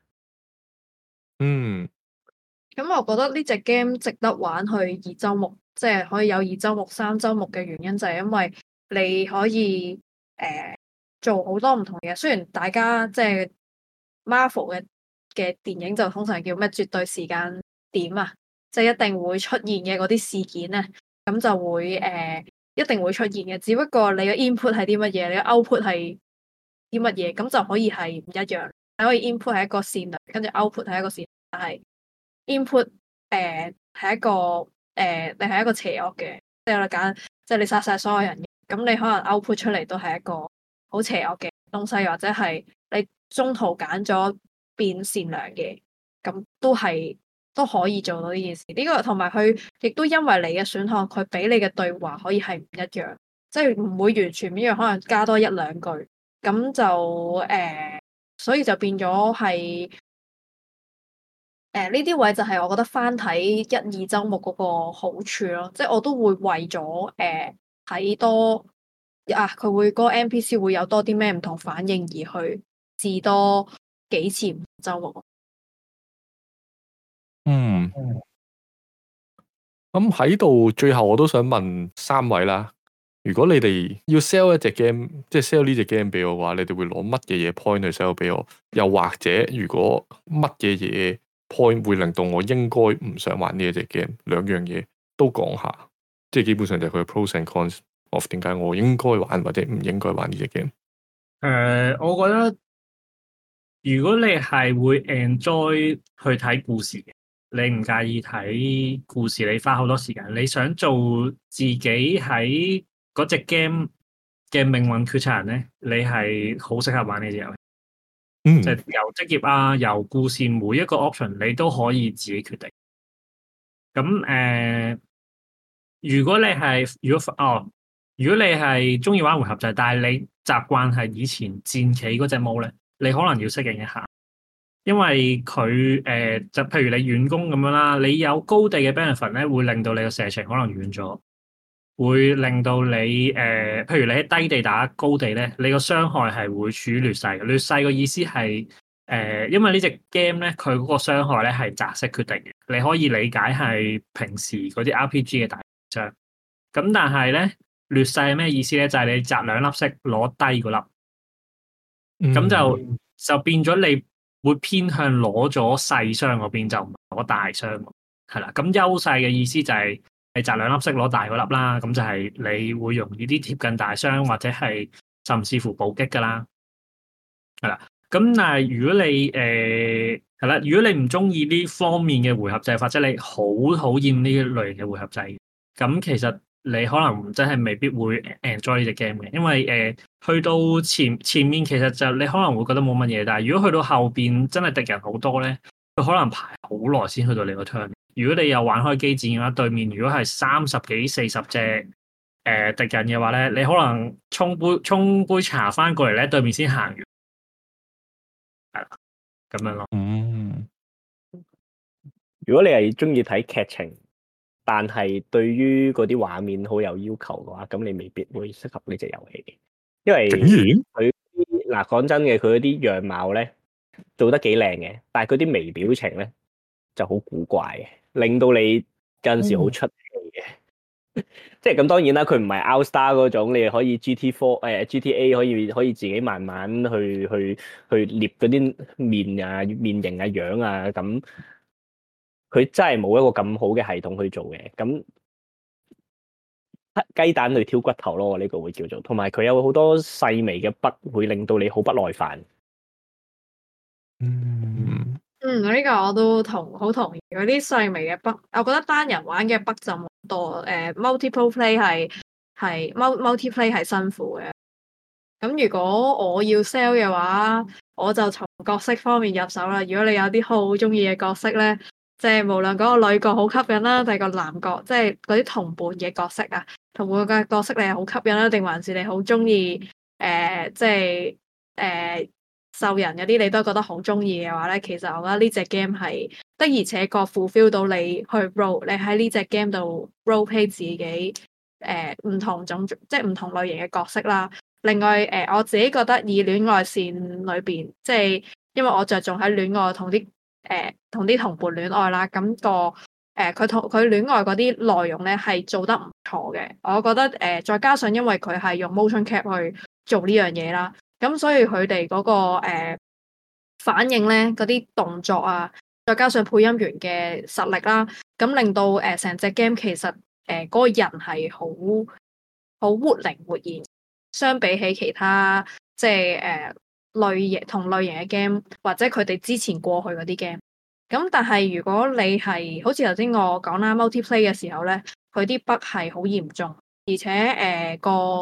嗯， 咁我覺得呢隻 game 值得玩去二周目，即係可以有二周目、三周目嘅原因就係因為你可以誒、呃、做好多唔同嘅嘢。雖然大家即係 Marvel 嘅嘅電影就通常叫咩絕對時間點啊，即係一定會出現嘅嗰啲事件咧，咁就會誒、呃、一定會出現嘅。只不過你嘅 input 係啲乜嘢，你嘅 output 係啲乜嘢，咁就可以係唔一樣。你可以 input 係一個善良，跟住 output 係一個善良，但係 input 誒係一個誒、呃、你係一個邪惡嘅，即係我哋揀，即係你殺晒所有人嘅，咁你可能 output 出嚟都係一個好邪惡嘅東西，或者係你中途揀咗變善良嘅，咁都係都可以做到呢件事。呢、這個同埋佢亦都因為你嘅選項，佢俾你嘅對話可以係唔一樣，即係唔會完全唔一樣，可能加多一兩句，咁就誒、呃，所以就變咗係。誒呢啲位就係我覺得翻睇一二周目嗰個好處咯，即係我都會為咗誒睇多啊，佢會嗰個 N P C 會有多啲咩唔同反應而去試多幾次周目。 嗯，咁喺度最後我都想問三位啦，如果你哋要 sell 一隻 game，即係 sell 呢隻 game 俾我嘅話，你哋會攞乜嘢嘢 point 去 sell 俾我？又或者如果乜嘢嘢 point 會令到我應該唔想玩呢一隻 game，兩樣嘢都講下，即係基本上就係佢嘅 pros and cons of 點解我應該玩或者唔應該玩呢隻 game。 誒，我覺得如果你係會 enjoy 去睇故事嘅，你唔介意睇故事，你花好多時間，你想做自己喺嗰隻 game 嘅命運決策人咧，你係好適合玩呢隻遊戲。 嗯， 即係由職業啊，由故事每一個 option 你都可以自己決定。咁誒、呃，如果你係如果哦，如果你係中意玩回合制，但係你習慣係以前戰棋嗰隻模咧，你可能要適應一下，因為佢誒、呃、就譬如你遠攻咁樣啦，你有高地嘅 benefit 咧，會令到你個射程可能遠咗。會令到你誒、呃，譬如你喺低地打高地咧，你個傷害係會處於劣勢嘅。劣勢嘅意思係誒、呃，因為呢隻 game 咧，佢嗰個傷害咧係擲色決定嘅。你可以理解係平時嗰啲 R P G 嘅大傷。咁但係咧，劣勢係咩意思咧？就係、是、你擲兩粒色攞低嗰粒，咁、嗯、就就變咗你會偏向攞咗細傷嗰邊，就唔係攞大傷。係啦，咁優勢嘅意思就係、是。你擲兩粒色攞大嗰粒啦，咁就係你會容易啲貼近大傷，或者係甚至乎暴擊噶啦，係啦。咁但係如果你誒係啦，如果你唔中意呢方面嘅回合制，或者你好討厭呢類型嘅回合制，咁其實你可能真係未必會 enjoy 呢隻 game 嘅，因為誒、呃、去到前前面其實就你可能會覺得冇乜嘢，但係如果去到後邊真係敵人好多咧，佢可能排好耐先去到你個 turn。如果你有玩開機戰嘅話，對面如果係三十幾、四十隻誒敵人嘅話咧，你可能沖杯沖杯茶翻過嚟咧，對面先行完，係啦，咁樣咯。 嗯， 如果你係中意睇劇情，但係對於嗰啲畫面好有要求嘅話，咁你未必會適合呢隻遊戲，因為佢嗱講真嘅，佢嗰啲樣貌咧做得幾靚嘅，但係佢啲微表情咧就好古怪嘅。令到你有陣時好出戲嘅，嗯、即係咁當然啦，佢唔係 Outstar 嗰種，你可以 G T four 誒 G T A 可以可以自己慢慢去去去捏嗰啲面啊面型啊樣啊咁，佢真係冇一個咁好嘅系統去做嘅，咁雞蛋去挑骨頭咯，呢、這個會叫做，同埋佢有好多細微嘅 bug 會令到你好不耐煩。 嗯。 嗯，呢、這個我都同好同意。嗰啲細微嘅 bug，我覺得單人玩嘅 bug 就冇多。誒、呃、multiple play 係係 multiplay 係辛苦嘅。咁如果我要 sell 嘅話，我就從角色方面入手啦。如果你有啲好中意嘅角色咧，即係無論嗰個女角好吸引啦，定係個男角，即係嗰啲同伴嘅角色啊，同伴嘅角色你係好吸引啦，定還是你好中意誒，即係誒。呃獸人嗰啲你都覺得好中意嘅話咧，其實我覺得呢隻 game 係的而且確 fulfill 到你去 role，你喺呢隻 game 度 role play 自己誒唔、呃、同種族，即係唔同類型嘅角色啦。另外誒、呃，我自己覺得以戀愛線裏邊，即係因為我着重喺戀愛同啲誒同啲同伴戀愛啦，咁、那個誒佢同佢戀愛嗰啲內容咧係做得唔錯嘅。我覺得誒、呃、再加上因為佢係用 motion cap 去做呢樣嘢啦。咁所以佢哋嗰個誒、呃、反應咧，嗰啲動作啊，再加上配音員嘅實力啦，咁令到誒成隻 game 其實誒嗰、呃那個人係好好活靈活現，相比起其他即係誒、呃、類型同類型嘅 game 或者佢哋之前過去嗰啲 game。咁但係如果你係好似頭先我講啦 multiplay 嘅時候咧，佢啲 bug 係好嚴重，而且誒、呃、個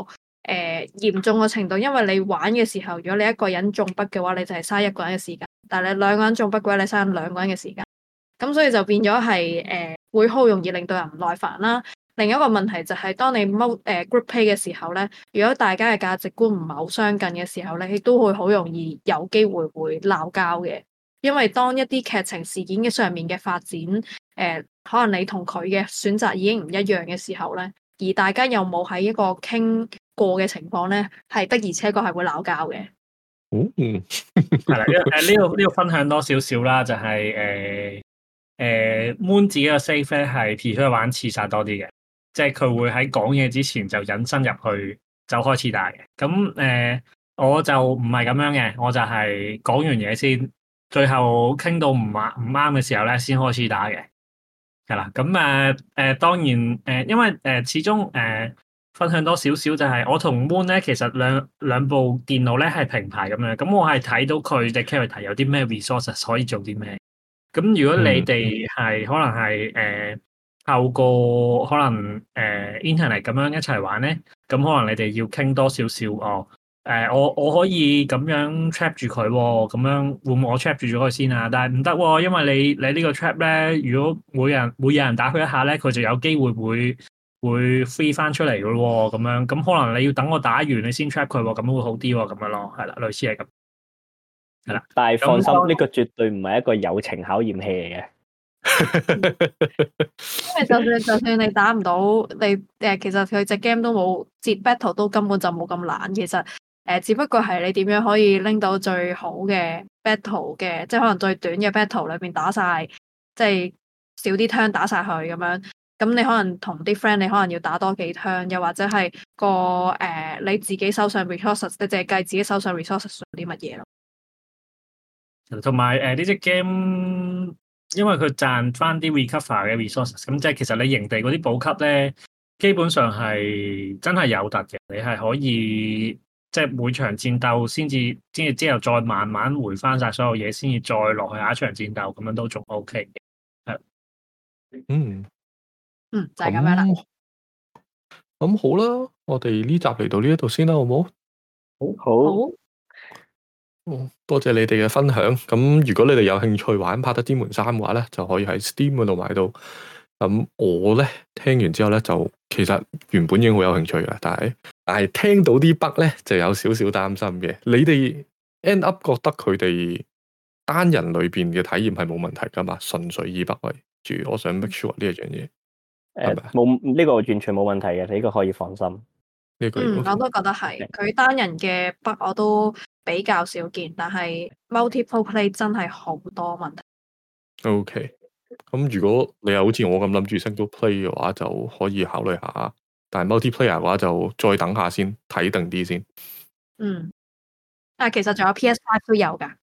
誒嚴重嘅程度，因為你玩嘅時候，如果你一個人中筆嘅話，你就係嘥一個人嘅時間；但係你兩個人中筆嘅話，你嘥兩個人嘅時間。咁所以就變咗係誒會好容易令到人唔耐煩啦。另一個問題就係當你踎誒 group play 嘅時候咧，如果大家嘅價值觀唔係好相近嘅時候咧，亦都會好容易有機會會鬧交嘅。因為當一啲劇情事件嘅上面嘅發展，誒、呃、可能你同佢嘅選擇已經唔一樣嘅時候咧，而大家又冇喺一個傾過嘅情況咧，係的而且確係會鬧交嘅。 嗯， 係啦，誒呢度呢度分享多少少啦，就係誒誒 Moon 自己嘅 save 咧係 prefer 玩刺殺多啲嘅，即係佢會喺講嘢之前就引申入去就開始打嘅。咁誒、呃、我就唔係咁樣嘅，我就係講完嘢先。最後傾到唔啱唔啱嘅時候咧，先開始打嘅，係啦。咁誒誒，當然誒、呃，因為誒、呃、始終誒、呃、分享多少少就係我同 Moon 咧，其實兩兩部電腦咧係平排咁樣。咁我係睇到佢嘅 character 有啲咩 resources 可以做啲咩。咁如果你哋係、嗯、可能係誒、呃、透過可能誒、呃、internet 咁樣一齊玩咧，咁可能你哋要傾多少少哦。誒、呃，我我可以咁樣 trap 住佢喎，咁樣會唔會我 trap 住咗佢先啊？但係唔得喎，因為你你呢個 trap 咧，如果每人每有人打佢一下咧，佢就有機會會會 free 翻出嚟嘅喎，咁樣咁可能你要等我打完你先 trap 佢喎，咁會好啲喎，咁樣咯，係啦，類似係咁，係啦。 但係放心， 咁呢個絕對唔係一個友情考驗器嚟嘅。 因為就算就算你打唔到，你誒其實佢隻 game 都冇接 battle 都根本就冇咁難，其實。誒、呃，只不過係你點樣可以拎到最好嘅 battle 嘅，即係可能最短嘅 battle 裏邊打晒，即係少啲 turn 打晒佢咁樣。咁你可能同啲 friend，你可能要打多幾 turn，又或者係個誒、呃、你自己手上 resources，你淨係計自己手上 resources 做啲乜嘢咯。 同埋誒呢隻 game，因為佢賺翻啲 recover 嘅 resources，咁即係其實你營地嗰啲補給咧，基本上係真係有突嘅，你係可以。即係每場戰鬥先至，先至之後再慢慢回翻晒所有嘢，先至再落去下一場戰鬥，咁樣都仲 OK 嘅。係， 嗯， 嗯，就係、是、咁樣啦。 咁好啦，我哋呢集嚟到呢一度先啦，好唔好？ 好，好。 哦，多謝你哋嘅分享。咁如果你哋有興趣玩《柏德之門三》嘅話咧，就可以喺 Steam 嗰度買到。咁我咧聽完之後咧，就其實原本已經好有興趣嘅，但係但係聽到啲 bug 咧，就有少少擔心嘅。你哋 end up 覺得佢哋單人裏邊嘅體驗係冇問題噶嘛？純粹以 bug 為主，我想 make sure 呢一樣嘢。 誒，冇呢個完全冇問題嘅，你呢個可以放心。 呢個嗯，我都覺得係。佢單人嘅 bug 我都比較少見，但係 multiple play 真係好多問題。 OK。咁如果你又好似我咁諗住 single play 嘅話，就可以考慮下。但係 multiplayer 嘅話，就再等下先，睇定啲先。 嗯，但係其實仲有 P S 五 都有噶，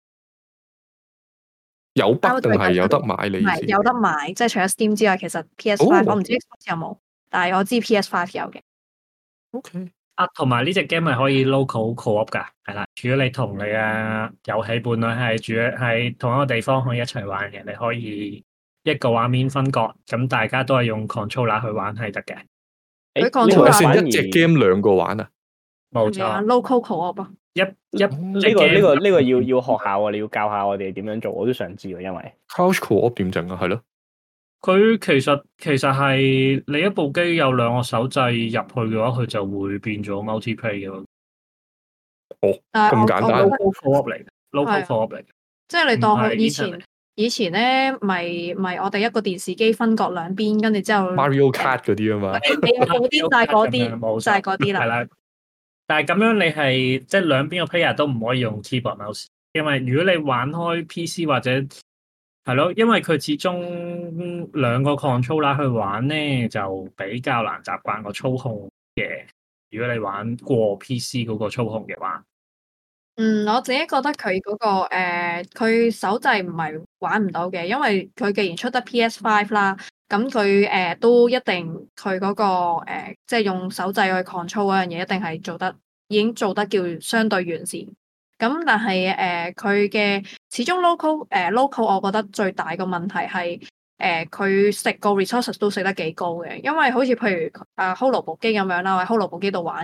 有 bug 定係有得買？你意思？ 唔係有得買，即係除咗 Steam 之外，其實 P S 五、哦、我唔知 Xbox 有冇，但係我知 P S 五 有嘅。 OK。 啊，同埋呢隻 game 係可以 local co-op 噶，係啦。如果你同你嘅遊戲伴侶係住喺同一個地方，可以一齊玩嘅，你可以。一個畫面分割，咁大家都係用 controller 去玩係得嘅。 佢 controller 算一隻 game 兩個玩啊？ 冇錯 ，local co-op 一一呢、這個呢、這個呢、這個要要學下啊！你要教下我哋點樣做，我都想知喎。因為 couch co-op 點整啊？係咯。 佢其實其實係你一部機有兩個手掣入去嘅話，佢就會變咗 multiplayer 嘅。 哦，咁簡單。 local co-op 嚟嘅 ，local co-op 嚟嘅。 即係你當佢以前。以前咧，咪咪我哋一個電視機分割兩邊，跟住之後 Mario Kart 嗰啲啊嘛， 嗰啲就係嗰啲，就係嗰啲啦。 係啦，但係咁樣你係即係兩邊個 player 都唔可以用 keyboard mouse，因為如果你玩開 P C 或者係咯，因為佢始終兩個 controller 去玩咧，就比較難習慣個操控嘅。如果你玩過 P C 嗰個操控嘅話。 嗯，我自己覺得佢嗰、那個誒，佢、呃、手掣唔係玩唔到嘅，因為佢既然出得 P S 五 啦，咁佢誒都一定佢嗰、那個誒、呃，即係用手掣去 control 嗰樣嘢，一定係做得已經做得叫相對完善。咁但係誒，佢、呃、嘅始終 local 誒、呃、local，我覺得最大個問題係誒，佢、呃、食個 resources 都食得幾高嘅，因為好似譬如啊 Holo 部機咁樣啦，我喺 Holo 部機度玩嘅。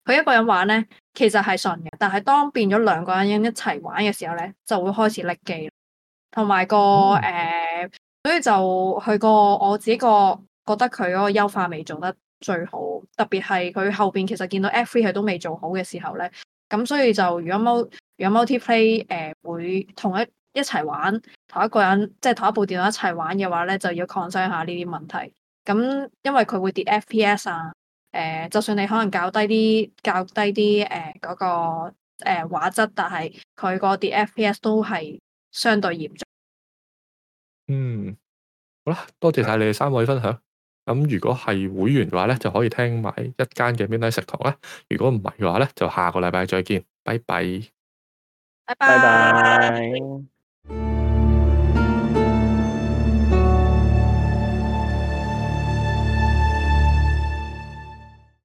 佢一個人玩咧，其實係順嘅，但係當變咗兩個人一齊玩嘅時候咧，就會開始甩機，同埋個誒、呃，所以就佢個我自己個覺得佢嗰個優化未做得最好，特別係佢後邊其實見到 F 三佢都未做好嘅時候咧，咁所以就如果 mul 如果 multiplay 誒、呃、會同一一齊玩，同一個人即係同一部電腦一齊玩嘅話咧，就要 concern 下呢啲問題。咁因為佢會跌 F P S 啊。誒、呃，就算你可能較低啲、較低啲誒嗰個誒、呃、畫質，但係佢個跌 F P S 都係相對嚴重。 嗯，好啦，多謝晒你哋三位分享。咁如果係會員嘅話咧，就可以聽埋一間嘅 Midnight 食堂啦。如果唔係嘅話咧，就下個禮拜再見，拜拜。 拜拜拜。